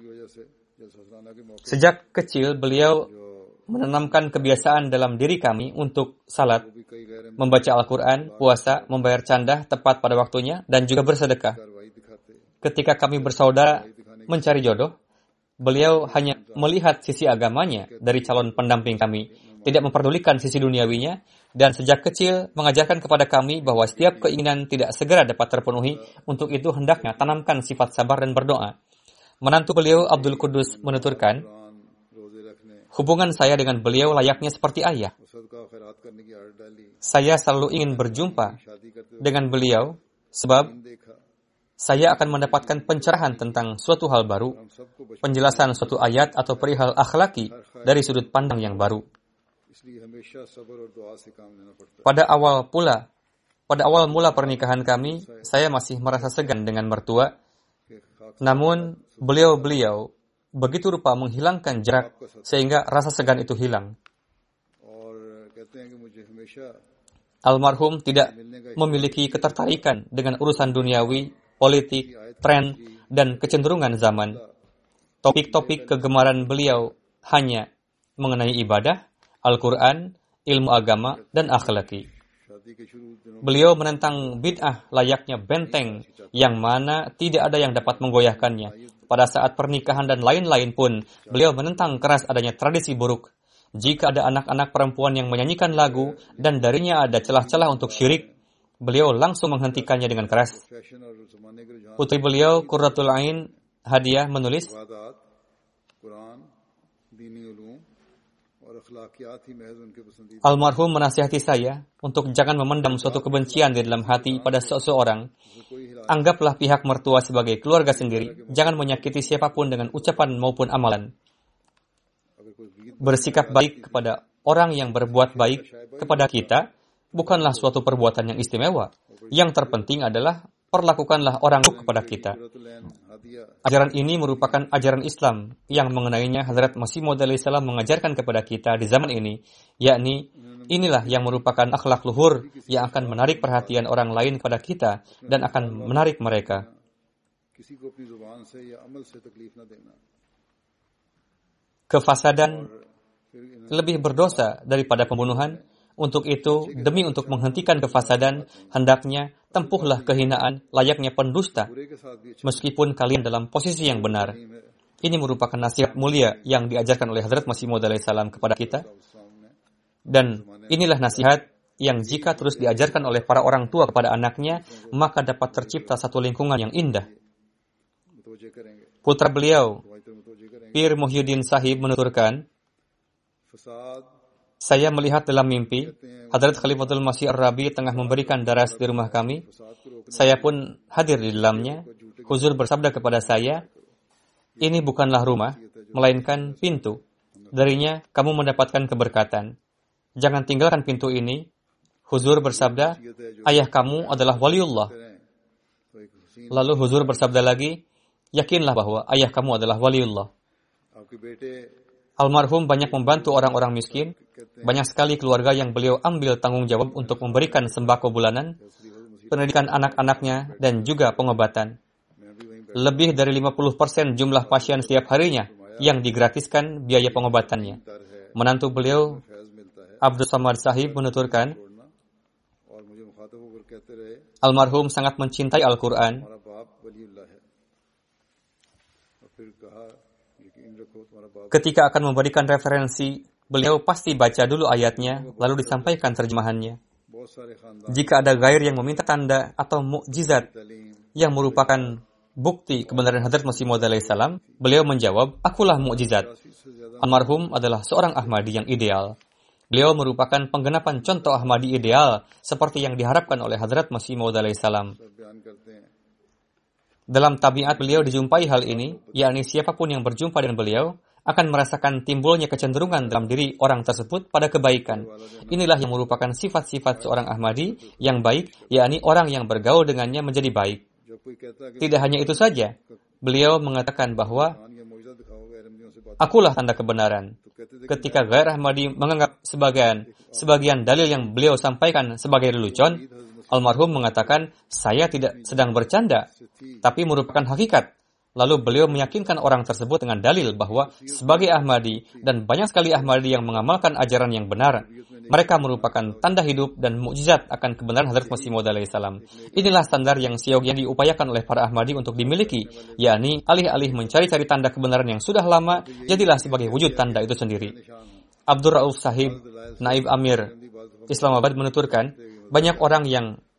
sejak kecil beliau menanamkan kebiasaan dalam diri kami untuk salat, membaca Al-Quran, puasa, membayar candah tepat pada waktunya, dan juga bersedekah. Ketika kami bersaudara mencari jodoh, beliau hanya melihat sisi agamanya dari calon pendamping kami, tidak memperdulikan sisi duniawinya, dan sejak kecil mengajarkan kepada kami bahwa setiap keinginan tidak segera dapat terpenuhi, untuk itu hendaknya tanamkan sifat sabar dan berdoa. Menantu beliau Abdul Qudus menuturkan, Quran रोजे रखने hubungan saya dengan beliau layaknya seperti ayah. सदका खैरात करने की आदत डाली, Saya selalu ingin berjumpa शादी करते dengan beliau sebab हुए देखा। saya akan mendapatkan pencerahan tentang suatu hal baru, हम सबको बचपन penjelasan suatu ayat atau perihal akhlaki dari sudut pandang yang baru. इसलिए हमेशा सब्र और दुआ से काम लेना पड़ता है। Pada awal mula pernikahan kami, saya masih merasa segan dengan mertua, कि खाक namun beliau begitu rupa menghilangkan jarak sehingga rasa segan itu hilang. और कहते हैं कि मुझे हमेशा Almarhum tidak memiliki ketertarikan dengan urusan duniawi, politik, tren, dan kecenderungan zaman. Topik-topik kegemaran beliau hanya mengenai ibadah, Al-Quran, ilmu agama, dan akhlaki. शादी के शुरू दिनों Beliau menentang bid'ah layaknya benteng yang mana tidak ada yang dapat menggoyahkannya. Pada saat pernikahan dan lain-lain pun, beliau menentang keras adanya tradisi buruk. Jika ada anak-anak perempuan yang menyanyikan lagu dan darinya ada celah-celah untuk syirik, beliau langsung menghentikannya dengan keras. Fashion और जमाने के रुझान Putri beliau, Qurratul Ain Hadiah, menulis, इबादत, कुरान, दीनी उलूम और अखलाकियात ही महज उनके पसंदीदा। almarhum menasihati saya untuk jangan memendam suatu kebencian di dalam hati pada seseorang. कोई हिला Anggaplah pihak mertua sebagai keluarga sendiri. Jangan menyakiti siapapun dengan ucapan maupun amalan. अगर कोई गीत Bersikap baik kepada orang yang berbuat baik kepada kita bukanlah suatu perbuatan yang istimewa. Yang terpenting adalah perlakukanlah orang buruk kepada kita. Quran हदिया Ajaran ini merupakan ajaran Islam yang mengenainya Hazrat Masih Maud alaihissalam mengajarkan kepada kita di zaman ini, yakni inilah yang merupakan akhlak luhur yang akan menarik perhatian orang lain kepada kita dan akan menarik mereka. किसी को अपनी जुबान से या अमल से तकलीफ न देना। Kefasadan फिर इन lebih berdosa daripada pembunuhan. Untuk itu, demi untuk menghentikan kefasadan, hendaknya tempuhlah kehinaan layaknya pendusta, बुरे के साथ भी meskipun kalian dalam posisi yang benar. नहीं है। Ini merupakan nasihat mulia yang diajarkan oleh Hazrat Masih Maud alaihissalam kepada kita. सामने Dan inilah nasihat yang jika terus diajarkan oleh para orang tua kepada anaknya, maka dapat tercipta satu lingkungan yang indah. मुतवज्जे करेंगे, Putra beliau, दुआई तो मुतवज्जे करेंगे। Pir Muhyiddin Sahib menuturkan, फसाद saya melihat dalam mimpi, Hadrat Khalifatul Masih Ar-Rabi tengah memberikan daras di rumah kami. फसाद को रोकने Saya pun hadir di dalamnya. Huzur bersabda kepada saya, ini bukanlah rumah, melainkan pintu. Darinya kamu mendapatkan keberkatan. Jangan tinggalkan pintu ini. Huzur bersabda, ayah kamu adalah waliullah. रहें। तो एक Hussain Lalu Huzur bersabda lagi, yakinlah bahwa ayah kamu adalah waliullah. आपके बेटे Almarhum banyak membantu orang-orang miskin. Banyak sekali keluarga yang beliau ambil tanggung jawab untuk memberikan sembako bulanan, pendidikan anak-anaknya, dan juga pengobatan. मैं भी वहीं Lebih dari 50% jumlah pasien setiap harinya yang digratiskan biaya pengobatannya. बैठा है, Menantu beliau, Faiz मिलता है Abdul Samad Sahib, menuturkan, छोड़ना। और मुझे मुखातब होकर कहते रहे, almarhum sangat mencintai Al-Quran. हमारा बाप वलीउल्लाह है। और फिर कहा, यकीन रखो तुम्हारा बाप Ketika akan memberikan referensi, beliau pasti baca dulu ayatnya, lalu disampaikan terjemahannya. बहुत सारे खानदान Jika ada gair yang meminta tanda atau mukjizat तालीम yang merupakan bukti kebenaran Hadrat Masih Maud alaihissalam, beliau menjawab, akulah mukjizat. से ज्यादा Almarhum adalah seorang Ahmadi yang ideal. Beliau merupakan penggenapan contoh Ahmadi ideal seperti yang diharapkan oleh Hadrat Masih Maud alaihissalam. बयान करते हैं। Dalam tabiat beliau dijumpai hal ini, yakni siapapun yang berjumpa dengan beliau akan merasakan timbulnya kecenderungan dalam diri orang tersebut pada kebaikan. Inilah yang merupakan sifat-sifat seorang Ahmadi yang baik, yakni orang yang bergaul dengannya menjadi baik. जब कोई कहता है कि Tidak hanya itu saja, beliau mengatakan bahwa Quran या मौजूदा दिखाओ गैर अहमदियों से बात, akulah tanda kebenaran. तो कहते थे Ketika Ghair Ahmadi menganggap sebagian dalil yang beliau sampaikan sebagai lelucon, almarhum mengatakan, saya tidak sedang bercanda, tapi merupakan hakikat. Lalu beliau meyakinkan orang tersebut dengan dalil bahwa sebagai Ahmadi dan banyak sekali Ahmadi yang mengamalkan ajaran yang benar, mereka merupakan tanda hidup dan mukjizat akan kebenaran Hadrat Masih Maud alaihissalam. Inilah standar yang siogianya diupayakan oleh para Ahmadi untuk dimiliki, yakni alih-alih mencari-cari tanda kebenaran yang sudah lama, jadilah sebagai wujud tanda itu sendiri. Abdur Rauf Sahib, Naib Amir, Islamabad menuturkan, banyak orang yang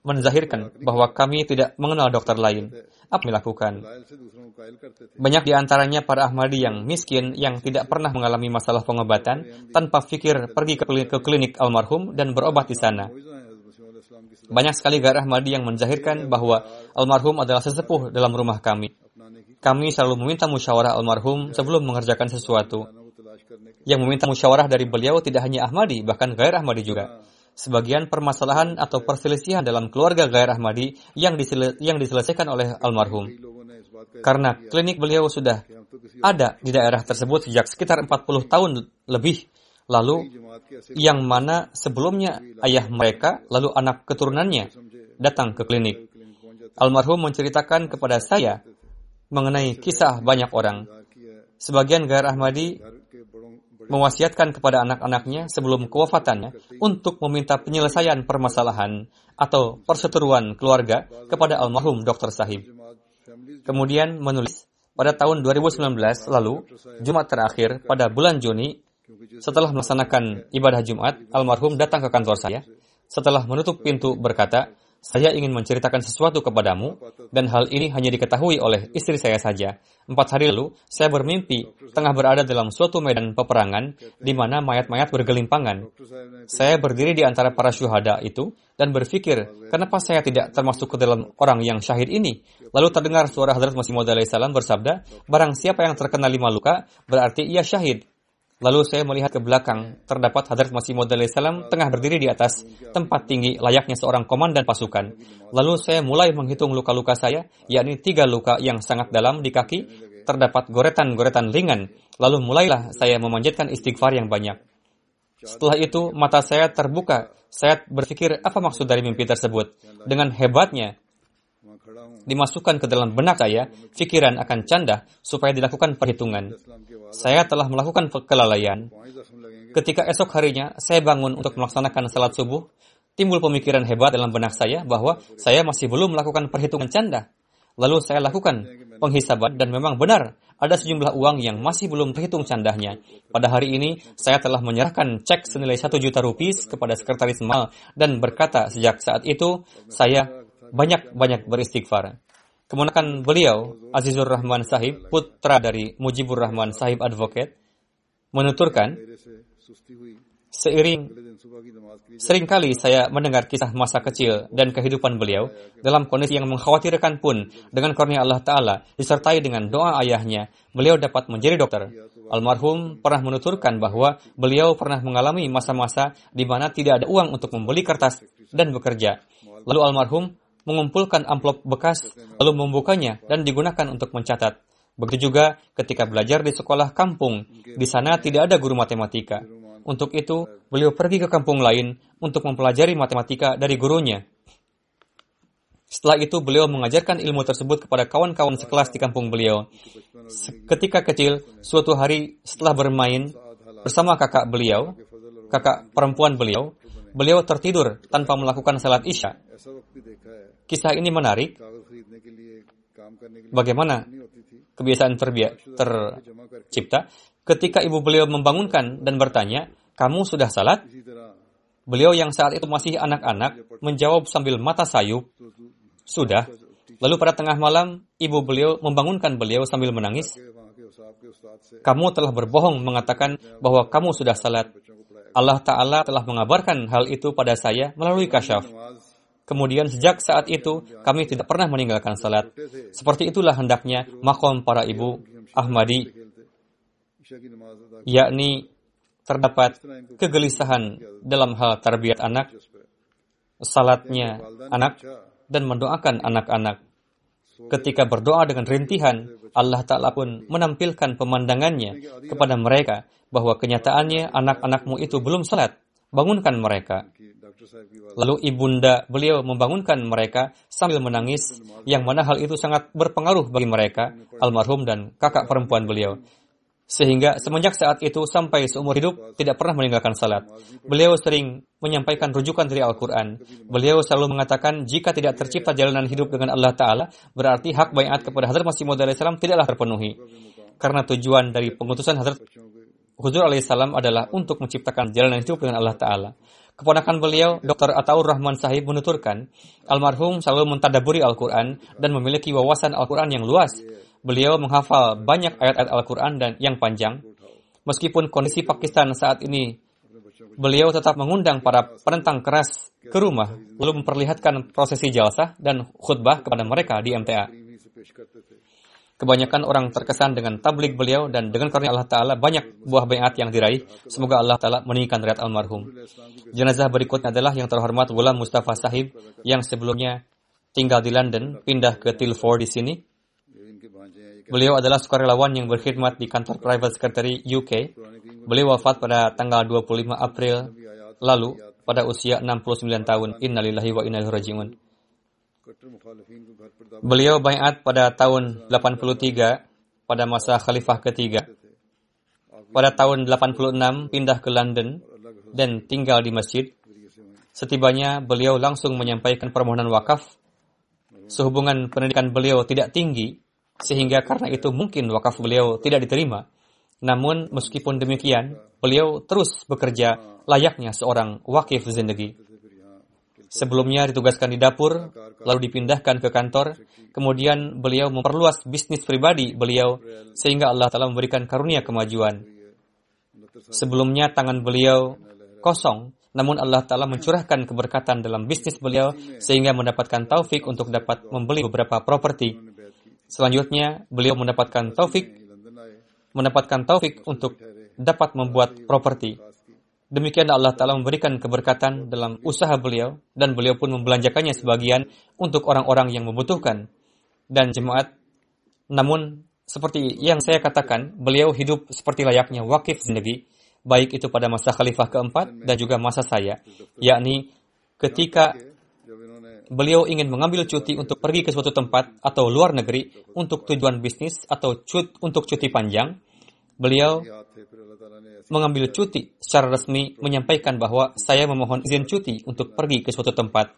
menzahirkan bahwa kami tidak mengenal dokter lain. Apa yang dilakukan? दलाइल से दूसरों को कायल करते थे। Banyak di antaranya para Ahmadi yang miskin yang tidak pernah mengalami masalah pengobatan tanpa pikir pergi ke klinik almarhum dan berobat di sana. मुइज़ा है हज़रत मसीह मौला इस्लाम की सदा Banyak sekali gair Ahmadi yang menzahirkan bahwa almarhum adalah sesepuh dalam rumah kami. अपनाने की Kami selalu meminta musyawarah almarhum sebelum mengerjakan sesuatu. खाना को तलाश करने के Yang meminta musyawarah dari beliau tidak hanya Ahmadi, bahkan gair Ahmadi juga. Sebagian permasalahan atau perselisihan dalam keluarga gair Ahmadi yang diselesaikan oleh almarhum. कई लोगों ने इस बात का Karena klinik beliau sudah हम तो किसी ada di daerah tersebut sejak sekitar 40 tahun lebih lalu, जमात के ऐसे yang mana sebelumnya ayah mereka lalu anak keturunannya datang ke klinik. Clinic पहुंच जाते Almarhum menceritakan kepada saya mengenai kisah banyak orang. की है Sebagian gair Ahmadi घर के बड़ों बड़े mewasiatkan kepada anak-anaknya sebelum kewafatannya untuk meminta penyelesaian permasalahan atau perseteruan keluarga kepada almarhum Dr. Sahib. जमात families Kemudian menulis, pada tahun 2019 lalu, Jumat terakhir pada bulan Juni, setelah melaksanakan ibadah Jumat, almarhum datang ke kantor saya. Setelah menutup pintu berkata, saya ingin menceritakan sesuatu kepadamu, dan hal ini hanya diketahui oleh istri saya saja. 4 hari lalu, saya bermimpi tengah berada dalam suatu medan peperangan di mana mayat-mayat bergelimpangan. Doctor साहब ने Saya berdiri di antara para syuhada itu dan berpikir, kenapa saya tidak termasuk ke dalam orang yang syahid ini? Lalu terdengar suara Hadrat Masih Maud alaihissalam bersabda, barang siapa yang terkena 5 luka, berarti ia syahid. Lalu saya melihat ke belakang, terdapat Hadrat Masih Maud alaihissalam tengah berdiri di atas tempat tinggi layaknya seorang komandan pasukan. Lalu saya mulai menghitung luka-luka saya, yakni 3 luka yang sangat dalam di kaki, terdapat goretan-goretan ringan. Lalu mulailah saya memanjatkan istighfar yang banyak. Setelah itu, mata saya terbuka. Saya berpikir, apa maksud dari mimpi tersebut? Dengan hebatnya, वहाँ खड़ा हूँ dimasukkan ke dalam benak saya, pikiran akan canda supaya dilakukan perhitungan. इस्लाम के बाद Saya telah melakukan kelalaian. 5 जख्म लगेंगे Ketika esok harinya saya bangun untuk melaksanakan salat subuh, timbul pemikiran hebat dalam benak saya bahwa saya masih belum melakukan perhitungan canda. Lalu saya lakukan penghisaban dan memang benar ada sejumlah uang yang masih belum terhitung candahnya. Pada hari ini saya telah menyerahkan cek senilai 1 juta rupiah kepada sekretaris mal dan berkata sejak saat itu saya banyak-banyak beristighfar. Kemudian beliau, Azizur Rahman Sahib, putra dari Mujibur Rahman Sahib Advocate, menuturkan, मेरे से सुस्ती हुई seiring अगले दिन सुबह की नमाज के लिए seringkali saya mendengar kisah masa kecil dan kehidupan beliau dalam kondisi yang mengkhawatirkan pun dengan karunia Allah Ta'ala disertai dengan doa ayahnya, beliau dapat menjadi dokter. Almarhum pernah menuturkan bahwa beliau pernah mengalami masa-masa di mana tidak ada uang untuk membeli kertas dan bekerja. Lalu almarhum mengumpulkan amplop bekas, lalu membukanya dan digunakan untuk mencatat. Begitu juga ketika belajar di sekolah kampung, di sana tidak ada guru matematika. Untuk itu, beliau pergi ke kampung lain untuk mempelajari matematika dari gurunya. Setelah itu, beliau mengajarkan ilmu tersebut kepada kawan-kawan sekelas di kampung beliau. Ketika kecil, suatu hari setelah bermain bersama kakak beliau, kakak perempuan beliau, beliau tertidur tanpa melakukan salat isya. ऐसा वक्त भी देखा है Kisah ini menarik. कागज खरीदने के लिए काम करने के लिए Bagaimana नहीं होती थी kebiasaan जमा करके tercipta? Ketika ibu beliau membangunkan dan bertanya, kamu sudah salat? इसी तरह Beliau yang saat itu masih anak-anak menjawab sambil mata sayup, sudah. Lalu pada tengah malam, ibu beliau membangunkan beliau sambil menangis, वहाँ के उसाब के उस्ताद से kamu telah berbohong mengatakan bahwa kamu sudah salat. बच्चों को पढ़ाया Allah Ta'ala telah mengabarkan hal itu pada saya melalui kasyaf. नमाज Kemudian sejak saat itu, kami tidak pernah meninggalkan salat. Seperti itulah hendaknya makom para ibu Ahmadi, खेलते ईशा की नमाज अदा yakni terdapat kegelisahan dalam hal tarbiyat anak, salatnya anak, dan mendoakan anak-anak. Ketika berdoa dengan rintihan, Allah Ta'ala pun menampilkan pemandangannya kepada mereka bahwa kenyataannya anak-anakmu itu belum salat. Bangunkan mereka. की डॉक्टर साहब की बात Lalu ibunda beliau membangunkan mereka sambil menangis, yang mana hal itu sangat berpengaruh bagi mereka, almarhum dan kakak perempuan beliau. Sehingga semenjak saat itu sampai seumur hidup tidak pernah meninggalkan salat. Beliau sering menyampaikan rujukan dari Al-Quran. Beliau selalu mengatakan jika tidak tercipta jalanan hidup dengan Allah Ta'ala, berarti hak baiat kepada Hadrat Masih Maud alaihissalam tidaklah terpenuhi. Karena tujuan dari pengutusan Hadrat Huzur alaihissalam adalah untuk menciptakan jalan hidup dengan Allah Ta'ala. Keponakan beliau, Dr. Ataur Rahman Sahib menuturkan, almarhum selalu mentadaburi Al-Quran dan memiliki wawasan Al-Quran yang luas. Beliau menghafal banyak ayat-ayat Al-Quran dan yang panjang. Meskipun kondisi Pakistan saat ini, beliau tetap mengundang para penentang keras ke rumah, lalu memperlihatkan prosesi jalsah dan khutbah kepada mereka di MTA. Kebanyakan orang terkesan dengan tabligh beliau dan dengan karunia Allah Ta'ala banyak buah baiat yang diraih. Semoga Allah Ta'ala meninggikan derajat almarhum. Jenazah berikutnya adalah yang terhormat Ghulam Mustafa Sahib yang sebelumnya tinggal di London, pindah ke Tilford di sini. Beliau adalah sukarelawan yang berkhidmat di kantor Private Secretary UK. Beliau wafat pada tanggal 25 April lalu pada usia 69 tahun. Innalillahi wa inna ilaihi raji'un. Beliau baiat pada tahun 83 pada masa Khalifah ketiga. Pada tahun 86 pindah ke London dan tinggal di masjid. Setibanya beliau langsung menyampaikan permohonan wakaf. Sehubungan pendidikan beliau tidak tinggi, sehingga karena itu mungkin wakaf beliau tidak diterima. Namun meskipun demikian, beliau terus bekerja layaknya seorang wakif zindagi. Sebelumnya ditugaskan di dapur, lalu dipindahkan ke kantor. Kemudian beliau memperluas bisnis pribadi beliau, sehingga Allah Ta'ala memberikan karunia kemajuan. Sebelumnya tangan beliau kosong, namun Allah Ta'ala mencurahkan keberkatan dalam bisnis beliau, sehingga mendapatkan taufik untuk dapat membeli beberapa properti. Selanjutnya, beliau mendapatkan taufik untuk dapat membuat properti. Demikian Allah Ta'ala memberikan keberkatan dalam usaha beliau dan beliau pun membelanjakannya sebagian untuk orang-orang yang membutuhkan dan jemaat. Namun, seperti yang saya katakan, beliau hidup seperti layaknya wakif zindagi, baik itu pada masa Khalifah keempat dan juga masa saya, yakni ketika beliau ingin mengambil cuti untuk pergi ke suatu tempat atau luar negeri untuk tujuan bisnis atau untuk cuti panjang, beliau mengambil cuti secara resmi menyampaikan bahwa saya memohon izin cuti untuk pergi ke suatu tempat.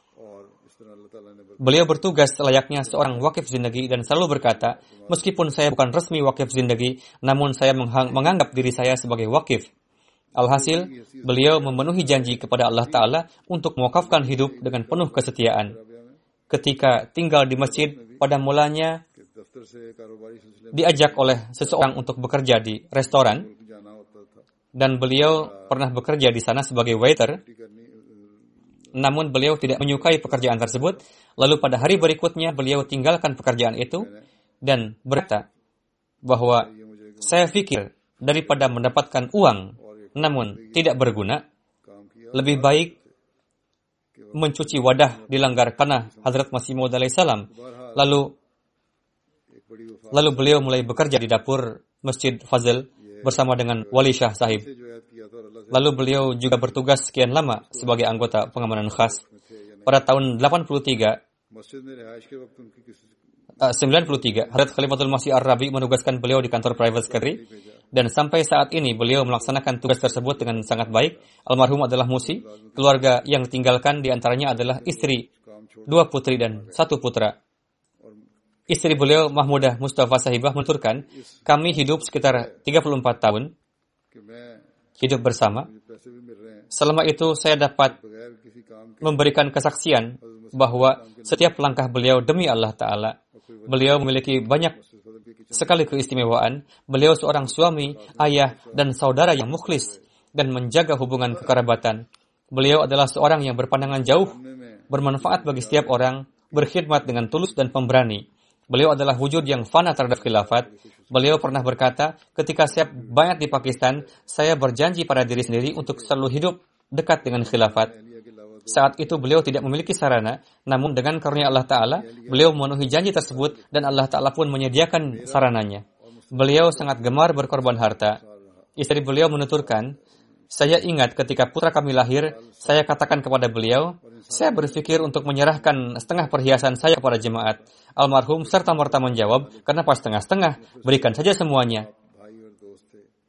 Beliau bertugas layaknya seorang wakif zindagi dan selalu berkata, meskipun saya bukan resmi wakif zindagi, namun saya menganggap diri saya sebagai wakif. Alhasil, beliau memenuhi janji kepada Allah Ta'ala untuk mewakafkan hidup dengan penuh kesetiaan. Ketika tinggal di masjid, pada mulanya diajak oleh seseorang untuk bekerja di restoran, dan beliau pernah bekerja di sana sebagai waiter. Namun beliau tidak menyukai pekerjaan tersebut. Lalu pada hari berikutnya beliau tinggalkan pekerjaan itu dan berkata bahwa saya pikir daripada mendapatkan uang namun tidak berguna, lebih baik mencuci wadah di langgar tanah Hazrat Masih Maud alaihissalam. Lalu beliau mulai bekerja di dapur Masjid Fazl bersama dengan Wali Shah Sahib. Lalu beliau juga bertugas sekian lama sebagai anggota pengamanan khas. Pada tahun 93, Hazrat Khalifatul Masih Ar-Rabi menugaskan beliau di kantor Private Secretary. Dan sampai saat ini beliau melaksanakan tugas tersebut dengan sangat baik. Almarhum adalah musi. Keluarga yang ditinggalkan diantaranya adalah istri, 2 putri dan 1 putra. Istri beliau Mahmudah Mustafa Sahibah menuturkan, kami hidup sekitar 34 tahun hidup bersama. Selama itu saya dapat memberikan kesaksian bahwa setiap langkah beliau demi Allah Ta'ala. Beliau memiliki banyak sekali keistimewaan. Beliau seorang suami, ayah, dan saudara yang mukhlis dan menjaga hubungan kekerabatan. Beliau adalah seorang yang berpandangan jauh, bermanfaat bagi setiap orang, berkhidmat dengan tulus dan pemberani. Beliau adalah wujud yang fana terhadap khilafat. Beliau pernah berkata, ketika saya baiat di Pakistan, saya berjanji pada diri sendiri untuk selalu hidup dekat dengan khilafat. Saat itu beliau tidak memiliki sarana, namun dengan karunia Allah Ta'ala, beliau memenuhi janji tersebut dan Allah Ta'ala pun menyediakan sarananya. Beliau sangat gemar berkorban harta. Istri beliau menuturkan, saya ingat ketika putra kami lahir, saya katakan kepada beliau, saya berpikir untuk menyerahkan setengah perhiasan saya kepada jemaat. Almarhum serta-merta menjawab, kenapa setengah-setengah? Berikan saja semuanya.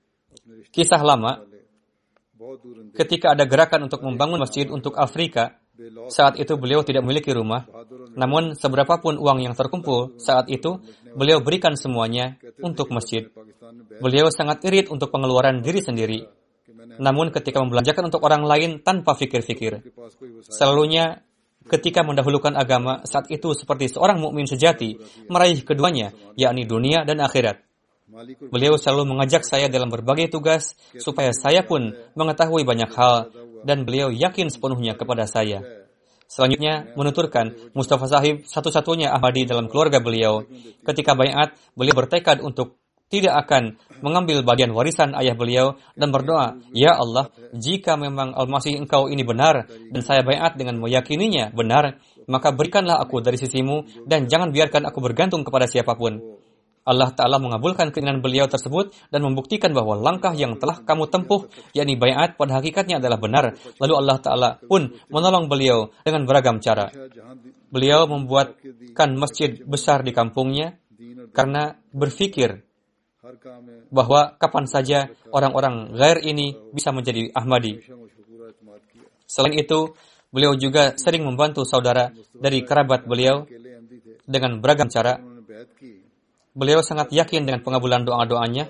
Kisah lama, ketika ada gerakan untuk membangun masjid untuk Afrika, Saat itu beliau tidak memiliki rumah, namun seberapapun uang yang terkumpul saat itu, beliau berikan semuanya untuk masjid. Beliau sangat irit untuk pengeluaran diri sendiri, namun ketika membelanjakan untuk orang lain tanpa fikir-fikir. Selalunya ketika mendahulukan agama, saat itu seperti seorang mukmin sejati meraih keduanya, yakni dunia dan akhirat. Beliau selalu mengajak saya dalam berbagai tugas supaya saya pun mengetahui banyak hal dan beliau yakin sepenuhnya kepada saya. Selanjutnya menuturkan Mustafa Sahib satu-satunya Ahmadi dalam keluarga beliau. Ketika baiat, beliau bertekad untuk tidak akan mengambil bagian warisan ayah beliau dan berdoa, "Ya Allah, jika memang Al-Masih Engkau ini benar dan saya baiat dengan meyakininya benar, maka berikanlah aku dari sisimu dan jangan biarkan aku bergantung kepada siapapun." Allah Ta'ala mengabulkan keinginan beliau tersebut dan membuktikan bahwa langkah yang telah kamu tempuh, yakni baiat, pada hakikatnya adalah benar. Lalu Allah Ta'ala pun menolong beliau dengan beragam cara. Beliau membuatkan masjid besar di kampungnya karena berpikir bahwa kapan saja orang-orang ghair ini bisa menjadi Ahmadi. Selain itu, beliau juga sering membantu saudara dari kerabat beliau dengan beragam cara. Beliau sangat yakin dengan pengabulan doa-doanya.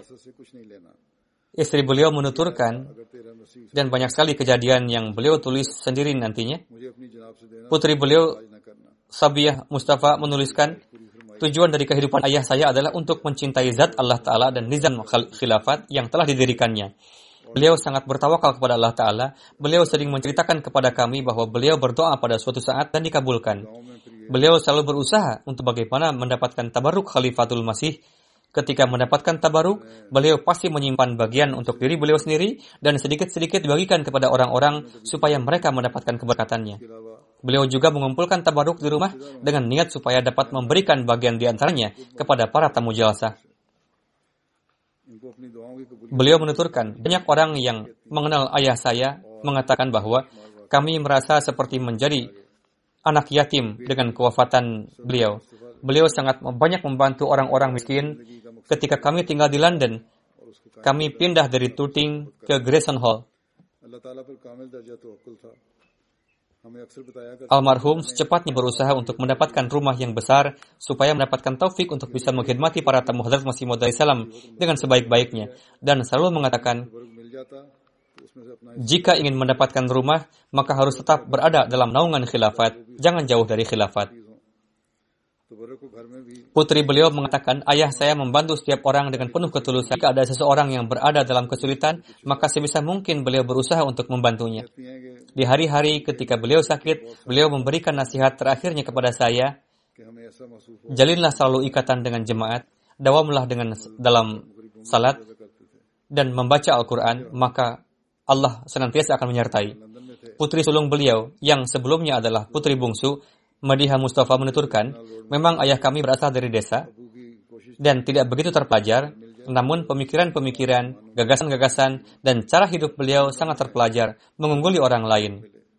Istri beliau menuturkan, dan banyak sekali kejadian yang beliau tulis sendiri nantinya. Putri beliau, Sabiyah Mustafa, menuliskan, tujuan dari kehidupan ayah saya adalah untuk mencintai zat Allah Ta'ala dan nizam khilafat yang telah didirikannya. Beliau sangat bertawakal kepada Allah Ta'ala. Beliau sering menceritakan kepada kami bahwa beliau berdoa pada suatu saat dan dikabulkan. Beliau selalu berusaha untuk bagaimana mendapatkan tabaruk Khalifatul Masih. Ketika mendapatkan tabaruk, beliau pasti menyimpan bagian untuk diri beliau sendiri dan sedikit-sedikit dibagikan kepada orang-orang supaya mereka mendapatkan keberkatannya. Beliau juga mengumpulkan tabaruk di rumah dengan niat supaya dapat memberikan bagian di antaranya kepada para tamu jalsah. Beliau menuturkan, banyak orang yang mengenal ayah saya mengatakan bahwa kami merasa seperti menjadi anak yatim dengan kewafatan beliau. Beliau sangat banyak membantu orang-orang miskin. Ketika kami tinggal di London, kami pindah dari Tooting ke Grayson Hall. Almarhum secepatnya berusaha untuk mendapatkan rumah yang besar supaya mendapatkan taufik untuk bisa mengkhidmati para tamu Hadrat Masih Maud salam dengan sebaik-baiknya, dan selalu mengatakan, jika ingin mendapatkan rumah, maka harus tetap berada dalam naungan khilafat, jangan jauh dari khilafat. Putri beliau mengatakan, ayah saya membantu setiap orang dengan penuh ketulusan. Jika ada seseorang yang berada dalam kesulitan, maka sebisa mungkin beliau berusaha untuk membantunya. Di hari-hari ketika beliau sakit, beliau memberikan nasihat terakhirnya kepada saya, jalinlah selalu ikatan dengan jemaat, dawamlah dalam salat, dan membaca Al-Quran, maka Allah senantiasa akan menyertai. Putri sulung beliau, yang sebelumnya adalah putri bungsu, Madiha Mustafa, menuturkan, memang ayah kami berasal dari desa dan tidak begitu terpelajar, namun pemikiran-pemikiran, gagasan-gagasan, dan cara hidup beliau sangat terpelajar, mengungguli orang lain.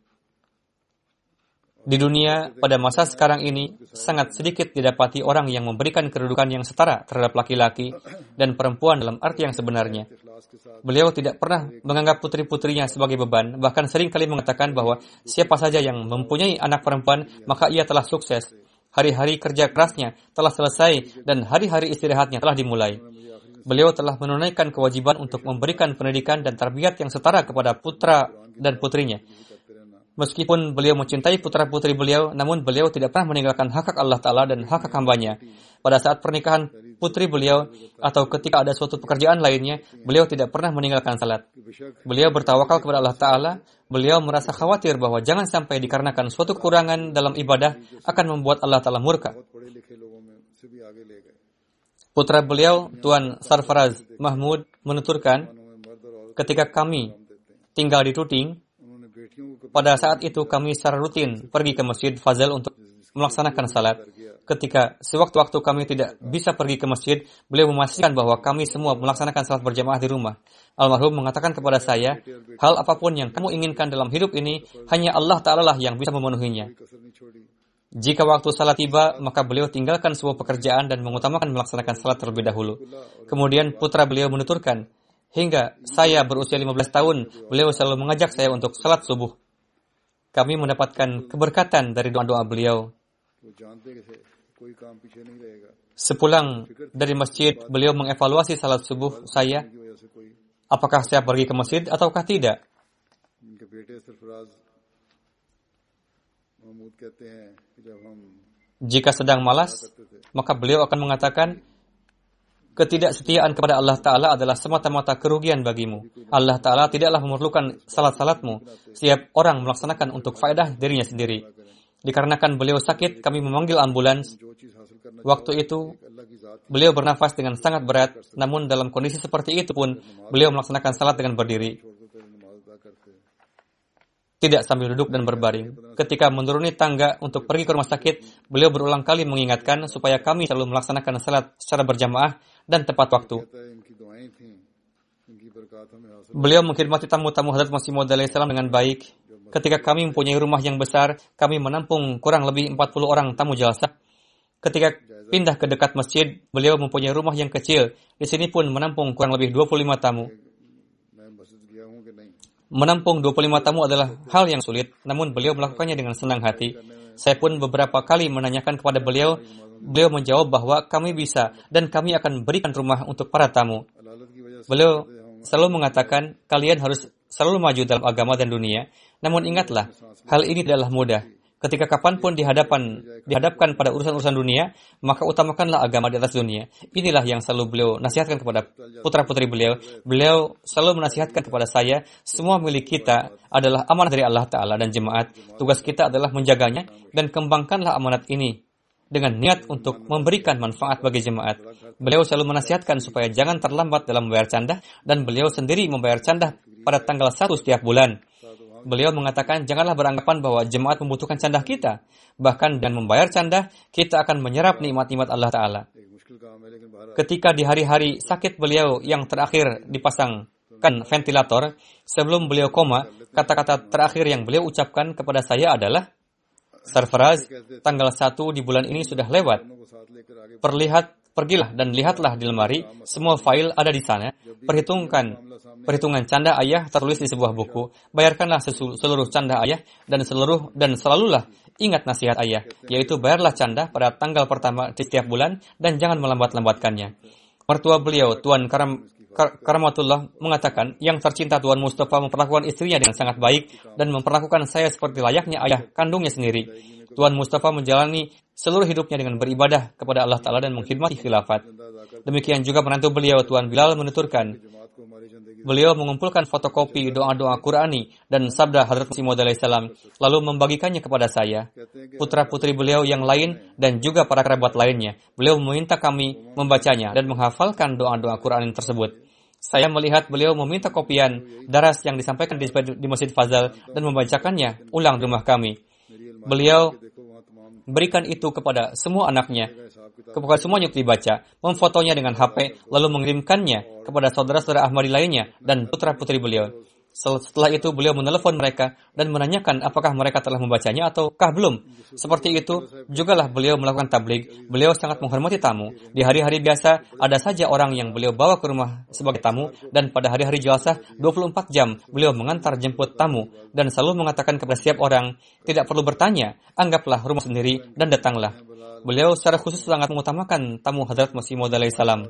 Di dunia, pada masa sekarang ini, sangat sedikit didapati orang yang memberikan kedudukan yang setara terhadap laki-laki dan perempuan dalam arti yang sebenarnya. Beliau tidak pernah menganggap putri-putrinya sebagai beban, bahkan sering kali mengatakan bahwa siapa saja yang mempunyai anak perempuan, maka ia telah sukses. Hari-hari kerja kerasnya telah selesai dan hari-hari istirahatnya telah dimulai. Beliau telah menunaikan kewajiban untuk memberikan pendidikan dan tarbiyat yang setara kepada putra dan putrinya. Meskipun beliau mencintai putra-putri beliau, namun beliau tidak pernah meninggalkan hak Allah Ta'ala dan hak hambanya. Pada saat pernikahan putri beliau, atau ketika ada suatu pekerjaan lainnya, beliau tidak pernah meninggalkan salat. Beliau bertawakal kepada Allah Ta'ala. Beliau merasa khawatir bahwa jangan sampai dikarenakan suatu kekurangan dalam ibadah akan membuat Allah Ta'ala murka. Putra beliau, Tuan Sarfaraz Mahmud, menuturkan, ketika kami tinggal di Tooting, pada saat itu kami secara rutin pergi ke Masjid Fazal untuk melaksanakan salat. Ketika sewaktu-waktu kami tidak bisa pergi ke masjid, beliau memastikan bahwa kami semua melaksanakan salat berjamaah di rumah. Almarhum mengatakan kepada saya, hal apapun yang kamu inginkan dalam hidup ini, hanya Allah Ta'ala lah yang bisa memenuhinya. Jika waktu salat tiba, maka beliau tinggalkan sebuah pekerjaan dan mengutamakan melaksanakan salat terlebih dahulu. Kemudian putra beliau menuturkan, hingga saya berusia 15 tahun, beliau selalu mengajak saya untuk salat subuh. kami mendapatkan keberkatan dari doa-doa beliau. Sepulang dari masjid, beliau mengevaluasi salat subuh saya. Apakah saya pergi ke masjid ataukah tidak? Jika sedang malas, maka beliau akan mengatakan, ketidaksetiaan kepada Allah Ta'ala adalah semata-mata kerugian bagimu. Allah Ta'ala tidaklah memerlukan salat-salatmu. Setiap orang melaksanakan untuk faedah dirinya sendiri. Dikarenakan beliau sakit, kami memanggil ambulans. Waktu itu, beliau bernafas dengan sangat berat, namun dalam kondisi seperti itu pun, beliau melaksanakan salat dengan berdiri. Tidak sambil duduk dan berbaring. Ketika menuruni tangga untuk pergi ke rumah sakit, beliau berulang kali mengingatkan supaya kami selalu melaksanakan salat secara berjamaah dan tepat waktu. Beliau mengkhidmati tamu-tamu Hadrat Masih Maud alaihissalam dengan baik. Ketika kami mempunyai rumah yang besar, kami menampung kurang lebih 40 orang tamu jalsah. Ketika pindah ke dekat masjid, beliau mempunyai rumah yang kecil. Di sini pun menampung kurang lebih 25 tamu. Menampung 25 tamu adalah hal yang sulit, namun beliau melakukannya dengan senang hati. Saya pun beberapa kali menanyakan kepada beliau, beliau menjawab bahwa kami bisa dan kami akan berikan rumah untuk para tamu. Beliau selalu mengatakan, kalian harus selalu maju dalam agama dan dunia. Namun ingatlah, hal ini tidaklah mudah. Ketika kapanpun dihadapkan pada urusan-urusan dunia, maka utamakanlah agama di atas dunia. Inilah yang selalu beliau nasihatkan kepada putra-putri beliau. Beliau selalu menasihatkan kepada saya, semua milik kita adalah amanah dari Allah Ta'ala dan jemaat. Tugas kita adalah menjaganya dan kembangkanlah amanat ini dengan niat untuk memberikan manfaat bagi jemaat. Beliau selalu menasihatkan supaya jangan terlambat dalam membayar candah, dan beliau sendiri membayar candah pada tanggal 1 setiap bulan. Beliau mengatakan, janganlah beranggapan bahwa jemaat membutuhkan candah kita. Bahkan dengan membayar candah, kita akan menyerap nikmat-nikmat Allah Ta'ala. Ketika di hari-hari sakit beliau yang terakhir dipasangkan ventilator, sebelum beliau koma, kata-kata terakhir yang beliau ucapkan kepada saya adalah, Sarfaraz, tanggal 1 di bulan ini sudah lewat. Pergilah dan lihatlah di lemari, semua fail ada di sana. Perhitungan canda ayah tertulis di sebuah buku. Bayarkanlah seluruh canda ayah dan selalulah ingat nasihat ayah, yaitu bayarlah canda pada tanggal pertama di setiap bulan dan jangan melambat-lambatkannya. Mertua beliau, Tuan Karamatullah, mengatakan, yang tercinta Tuan Mustafa memperlakukan istrinya dengan sangat baik dan memperlakukan saya seperti layaknya ayah kandungnya sendiri. Tuan Mustafa menjalani seluruh hidupnya dengan beribadah kepada Allah Ta'ala dan mengkhidmati khilafat. Demikian juga menantu beliau, Tuan Bilal, menuturkan, beliau mengumpulkan fotokopi doa-doa Qurani dan sabda Hadrat Masih Maud alaihissalam, lalu membagikannya kepada saya, putra-putri beliau yang lain, dan juga para kerabat lainnya. Beliau meminta kami membacanya dan menghafalkan doa-doa Qurani tersebut. Saya melihat beliau meminta kopian daras yang disampaikan di Masjid Fazal dan membacakannya ulang di rumah kami. Beliau berikan itu kepada semua anaknya, kepada semuanya untuk dibaca, memfotonya dengan HP, lalu mengirimkannya kepada saudara-saudara Ahmadi lainnya dan putra-putri beliau. Setelah itu beliau menelepon mereka dan menanyakan apakah mereka telah membacanya ataukah belum. Seperti itu jugalah beliau melakukan tabligh. Beliau sangat menghormati tamu. Di hari-hari biasa ada saja orang yang beliau bawa ke rumah sebagai tamu, dan pada hari-hari jelasah 24 jam beliau mengantar jemput tamu dan selalu mengatakan kepada setiap orang, tidak perlu bertanya, anggaplah rumah sendiri dan datanglah. Beliau secara khusus sangat mengutamakan tamu Hadrat Masih Maud alaihissalam.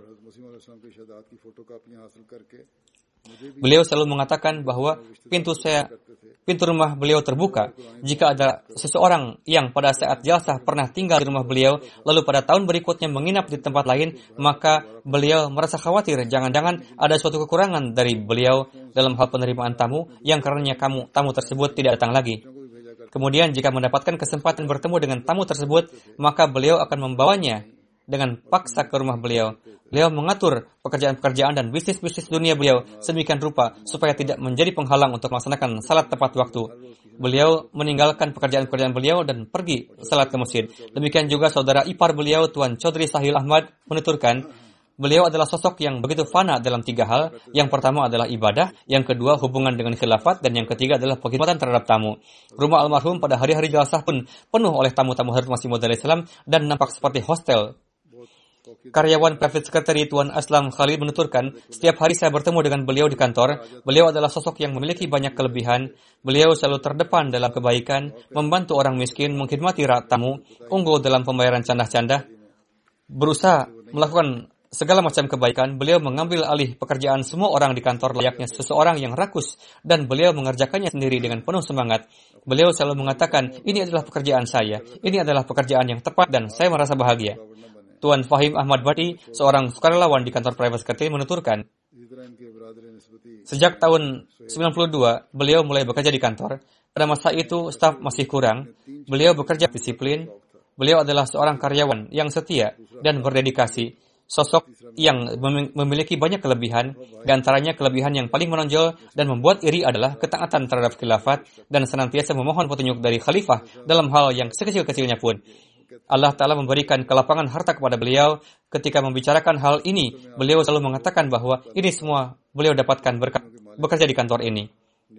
Beliau selalu mengatakan bahwa pintu rumah beliau terbuka. Jika ada seseorang yang pada saat jalsah pernah tinggal di rumah beliau, lalu pada tahun berikutnya menginap di tempat lain, maka beliau merasa khawatir jangan-jangan ada suatu kekurangan dari beliau dalam hal penerimaan tamu, yang karenanya tamu tersebut tidak datang lagi. Kemudian jika mendapatkan kesempatan bertemu dengan tamu tersebut, maka beliau akan membawanya dengan paksa ke rumah beliau. Beliau mengatur pekerjaan-pekerjaan dan bisnis-bisnis dunia beliau sedemikian rupa supaya tidak menjadi penghalang untuk melaksanakan salat tepat waktu. Beliau meninggalkan pekerjaan-pekerjaan beliau dan pergi salat ke masjid. Demikian juga saudara ipar beliau, Tuan Chaudhry Sahil Ahmad, menuturkan, beliau adalah sosok yang begitu fana dalam 3 hal. Yang pertama adalah ibadah, yang kedua hubungan dengan khilafat, dan yang ketiga adalah pengkhidmatan terhadap tamu. Rumah almarhum pada hari-hari jelasah pun penuh oleh tamu-tamu Hadrat Masih Maud alaihissalam dan nampak seperti hostel. karyawan private secretary Tuan Aslam Khalid menuturkan, setiap hari saya bertemu dengan beliau di kantor. Beliau adalah sosok yang memiliki banyak kelebihan. Beliau selalu terdepan dalam kebaikan, membantu orang miskin, mengkhidmati tamu, unggul dalam pembayaran candah-candah, berusaha melakukan segala macam kebaikan. Beliau mengambil alih pekerjaan semua orang di kantor layaknya seseorang yang rakus, dan beliau mengerjakannya sendiri dengan penuh semangat. Beliau selalu mengatakan, ini adalah pekerjaan saya, ini adalah pekerjaan yang tepat dan saya merasa bahagia. Tuan Fahim Ahmad Bhatti, seorang sukarelawan di kantor private secretary, menuturkan, sejak tahun 92, beliau mulai bekerja di kantor. Pada masa itu, staf masih kurang. Beliau bekerja disiplin. Beliau adalah seorang karyawan yang setia dan berdedikasi. Sosok yang memiliki banyak kelebihan. Di antaranya kelebihan yang paling menonjol dan membuat iri adalah ketaatan terhadap khilafat dan senantiasa memohon petunjuk dari khalifah dalam hal yang sekecil-kecilnya pun. Allah Ta'ala memberikan kelapangan harta kepada beliau. Ketika membicarakan hal ini, beliau selalu mengatakan bahwa ini semua beliau dapatkan berkat bekerja di kantor ini.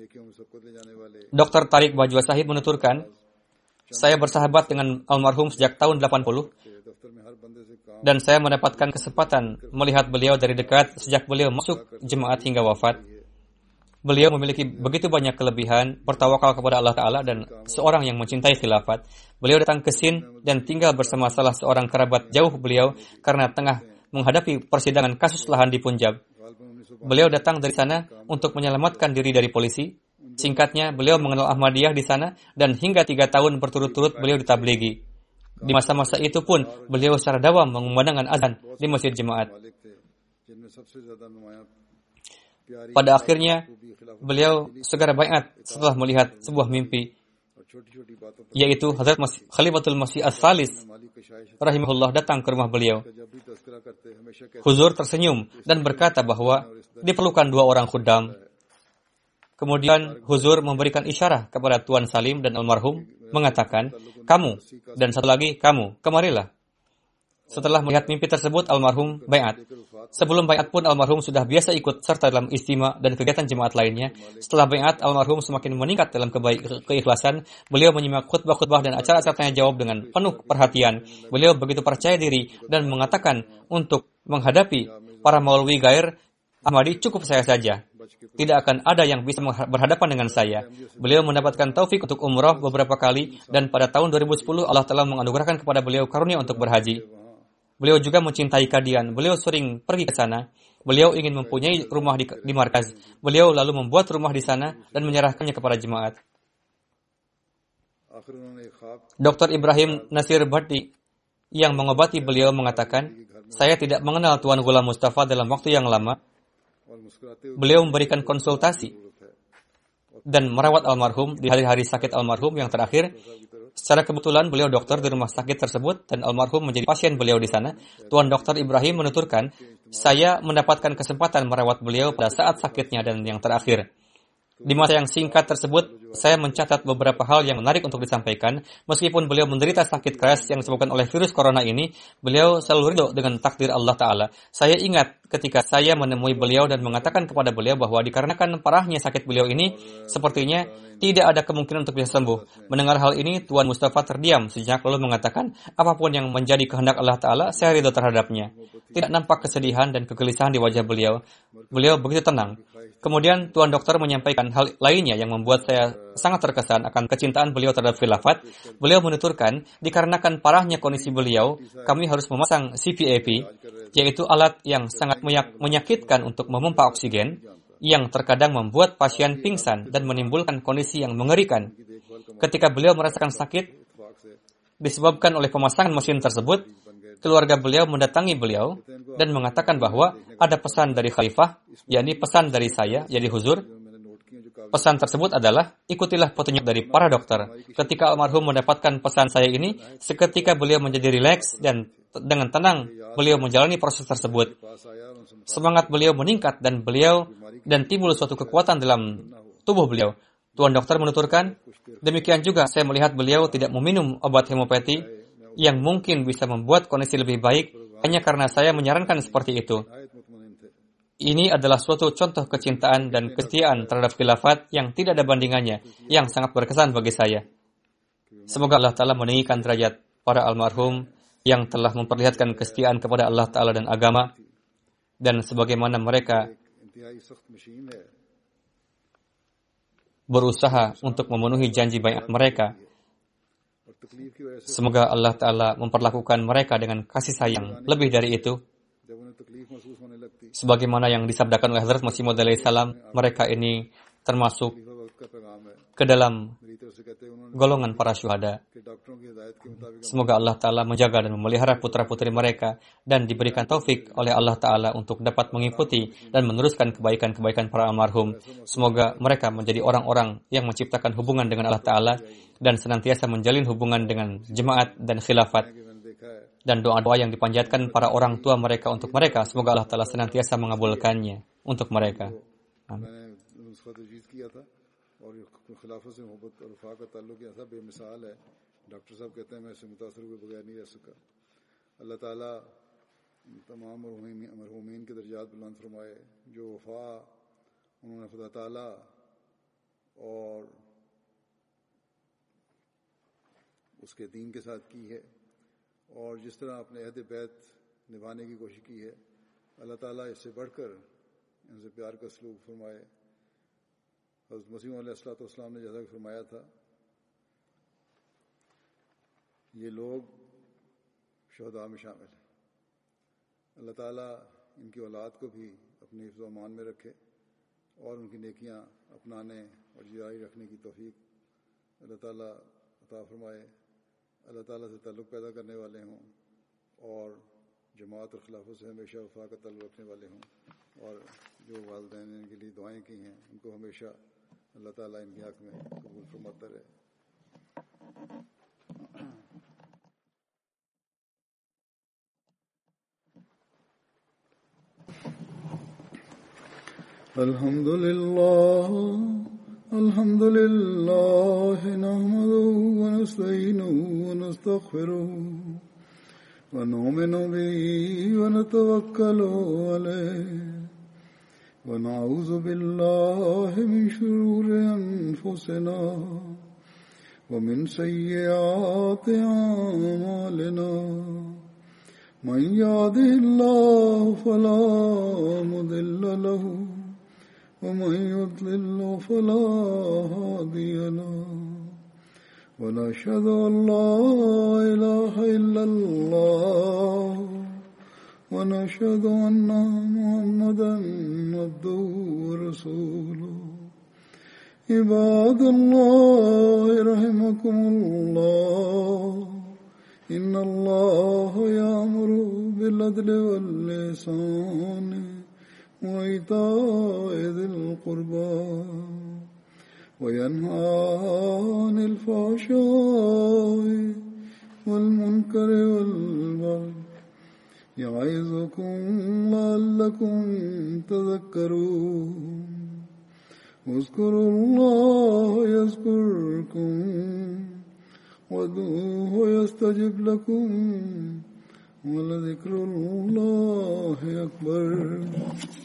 Dr. Tariq Bajwa Sahib menuturkan, saya bersahabat dengan almarhum sejak tahun 80 dan saya mendapatkan kesempatan melihat beliau dari dekat sejak beliau masuk jemaat hingga wafat. Beliau memiliki begitu banyak kelebihan, bertawakal kepada Allah Ta'ala dan seorang yang mencintai khilafat. Beliau datang ke Sind dan tinggal bersama salah seorang kerabat jauh beliau karena tengah menghadapi persidangan kasus lahan di Punjab. Beliau datang dari sana untuk menyelamatkan diri dari polisi. Singkatnya, beliau mengenal Ahmadiyah di sana dan hingga 3 tahun berturut-turut beliau ditabligi. Di masa-masa itu pun, beliau secara dawam mengumandangkan azan di masjid jemaat. Pada akhirnya, beliau segera baiat setelah melihat sebuah mimpi, yaitu Hazrat Khalifatul Masih As-Salis rahimahullah datang ke rumah beliau. Huzur tersenyum dan berkata bahwa diperlukan 2 orang khuddam. Kemudian Huzur memberikan isyarah kepada Tuan Salim dan almarhum, mengatakan, kamu dan satu lagi kamu, kemarilah. Setelah melihat mimpi tersebut, almarhum baiat. Sebelum baiat pun almarhum sudah biasa ikut serta dalam istima dan kegiatan jemaat lainnya. Setelah baiat, almarhum semakin meningkat dalam keikhlasan. Beliau menyimak khutbah-khutbah dan acara-acara tanya jawab dengan penuh perhatian. Beliau begitu percaya diri dan mengatakan untuk menghadapi para maulwi gair Ahmadi cukup saya saja. Tidak akan ada yang bisa berhadapan dengan saya. Beliau mendapatkan taufik untuk umrah beberapa kali dan pada tahun 2010 Allah telah menganugerahkan kepada beliau karunia untuk berhaji. Beliau juga mencintai Qadian. Beliau sering pergi ke sana. Beliau ingin mempunyai rumah di markaz. Beliau lalu membuat rumah di sana dan menyerahkannya kepada jemaat. Dr. Ibrahim Nasir Bhatti yang mengobati beliau mengatakan, saya tidak mengenal Tuan Ghulam Mustafa dalam waktu yang lama. Beliau memberikan konsultasi dan merawat almarhum di hari-hari sakit almarhum yang terakhir. Secara kebetulan beliau dokter di rumah sakit tersebut dan almarhum menjadi pasien beliau di sana. Tuan Dr. Ibrahim menuturkan, saya mendapatkan kesempatan merawat beliau pada saat sakitnya dan yang terakhir. Di masa yang singkat tersebut, saya mencatat beberapa hal yang menarik untuk disampaikan. Meskipun beliau menderita sakit keras yang disebabkan oleh virus corona ini, beliau selalu ridho dengan takdir Allah Ta'ala. Saya ingat ketika saya menemui beliau dan mengatakan kepada beliau bahwa dikarenakan parahnya sakit beliau ini, sepertinya tidak ada kemungkinan untuk bisa sembuh. Mendengar hal ini, Tuan Mustafa terdiam sejenak lalu mengatakan, apapun yang menjadi kehendak Allah Ta'ala, saya ridho terhadapnya. Tidak nampak kesedihan dan kegelisahan di wajah beliau. Beliau begitu tenang. Kemudian Tuan Dokter menyampaikan hal lainnya yang membuat saya sangat terkesan akan kecintaan beliau terhadap khilafat. Beliau menuturkan, dikarenakan parahnya kondisi beliau, kami harus memasang CPAP, yaitu alat yang sangat menyakitkan untuk memompa oksigen, yang terkadang membuat pasien pingsan dan menimbulkan kondisi yang mengerikan. Ketika beliau merasakan sakit disebabkan oleh pemasangan mesin tersebut, keluarga beliau mendatangi beliau dan mengatakan bahwa ada pesan dari khalifah, yakni pesan dari saya, jadi Huzur. Pesan tersebut adalah, ikutilah petunjuk dari para dokter. Ketika almarhum mendapatkan pesan saya ini, seketika beliau menjadi rileks dan dengan tenang beliau menjalani proses tersebut. Semangat beliau meningkat dan timbul suatu kekuatan dalam tubuh beliau. Tuan Dokter menuturkan, demikian juga saya melihat beliau tidak meminum obat hemopati yang mungkin bisa membuat kondisi lebih baik hanya karena saya menyarankan seperti itu. Ini adalah suatu contoh kecintaan dan kesetiaan terhadap khilafat yang tidak ada bandingannya, yang sangat berkesan bagi saya. Semoga Allah Ta'ala meninggikan derajat para almarhum yang telah memperlihatkan kesetiaan kepada Allah Ta'ala dan agama, dan sebagaimana mereka berusaha untuk memenuhi janji baiat mereka. Semoga Allah Ta'ala memperlakukan mereka dengan kasih sayang. Lebih dari itu, sebagaimana yang disabdakan oleh Hazrat Masih Maud alaihi salam, mereka ini termasuk ke dalam golongan para syuhada. Semoga Allah Ta'ala menjaga dan memelihara putra-putri mereka dan diberikan taufik oleh Allah Ta'ala untuk dapat mengikuti dan meneruskan kebaikan-kebaikan para almarhum. Semoga mereka menjadi orang-orang yang menciptakan hubungan dengan Allah Ta'ala dan senantiasa menjalin hubungan dengan jemaat dan khilafat. Dan doa-doa yang dipanjatkan para orang tua mereka untuk mereka, semoga Allah Ta'ala senantiasa mengabulkannya untuk mereka. Amin. और खिलाफत से मोहब्बत और वफा का ताल्लुक ऐसा बेमिसाल है, डॉक्टर साहब कहते हैं मैं इससे मुतासर हुए बगैर नहीं रह सका। अल्लाह ताला तमाम मरहूमीन के दर्जात बुलंद फरमाए। जो वफा उन्होंने खुदा ताला और उसके दीन के साथ की है और जिस तरह अपने अहद बैत निभाने की कोशिश की है, अल्लाह ताला इससे बढ़कर इनसे प्यार का सलूक फरमाए। हज़रत मसीह अलैहिस्सलाम ने जैसा कि फरमाया था, ये लोग शहदा में शामिल हैं। अल्लाह ताला इनकी औलाद को भी अपनी हिफ्ज़ व अमान में रखे और उनकी नेकियां अपनाने और जारी रखने की तौफीक अल्लाह ताला अता फरमाए। अल्लाह ताला से ताल्लुक़ पैदा करने वाले हों और जमात और खिलाफत से हमेशा वफा का ताल्लुक़ रखने वाले हों, और जो वालिदैन ने इनके लिए दुआएं की हैं उनको हमेशा अल्लाह ताला इनके हक़ में कबूल फरमाता रहे। अल्हम्दुलिल्लाह नहमदुहु व नस्तईनुहु व नस्तगफिरुहु व नु'मिनु बिही व नतवक्कलु अलैहि व नऊज़ु बिल्लाहि मिन शुरूरि अनफुसिना व मिन सय्यिआति अअमालिना मन यहदिहिल्लाहु फला मुदिल्ल लहु व मन युद्लिल्हु फला हादिय लहु व नशहदु अन ला इलाहा इल्लल्लाह ونشهد أن محمدا عبده ورسوله عباد الله رحمكم الله إن الله يأمر بالعدل والإحسان وإيتاء ذي القربى وينهى عن الفحشاء والمنكر والبغي يعظكم لعلكم تذكرون اذكروا الله يذكركم وادعوه يستجب لكم ولذكر الله أكبر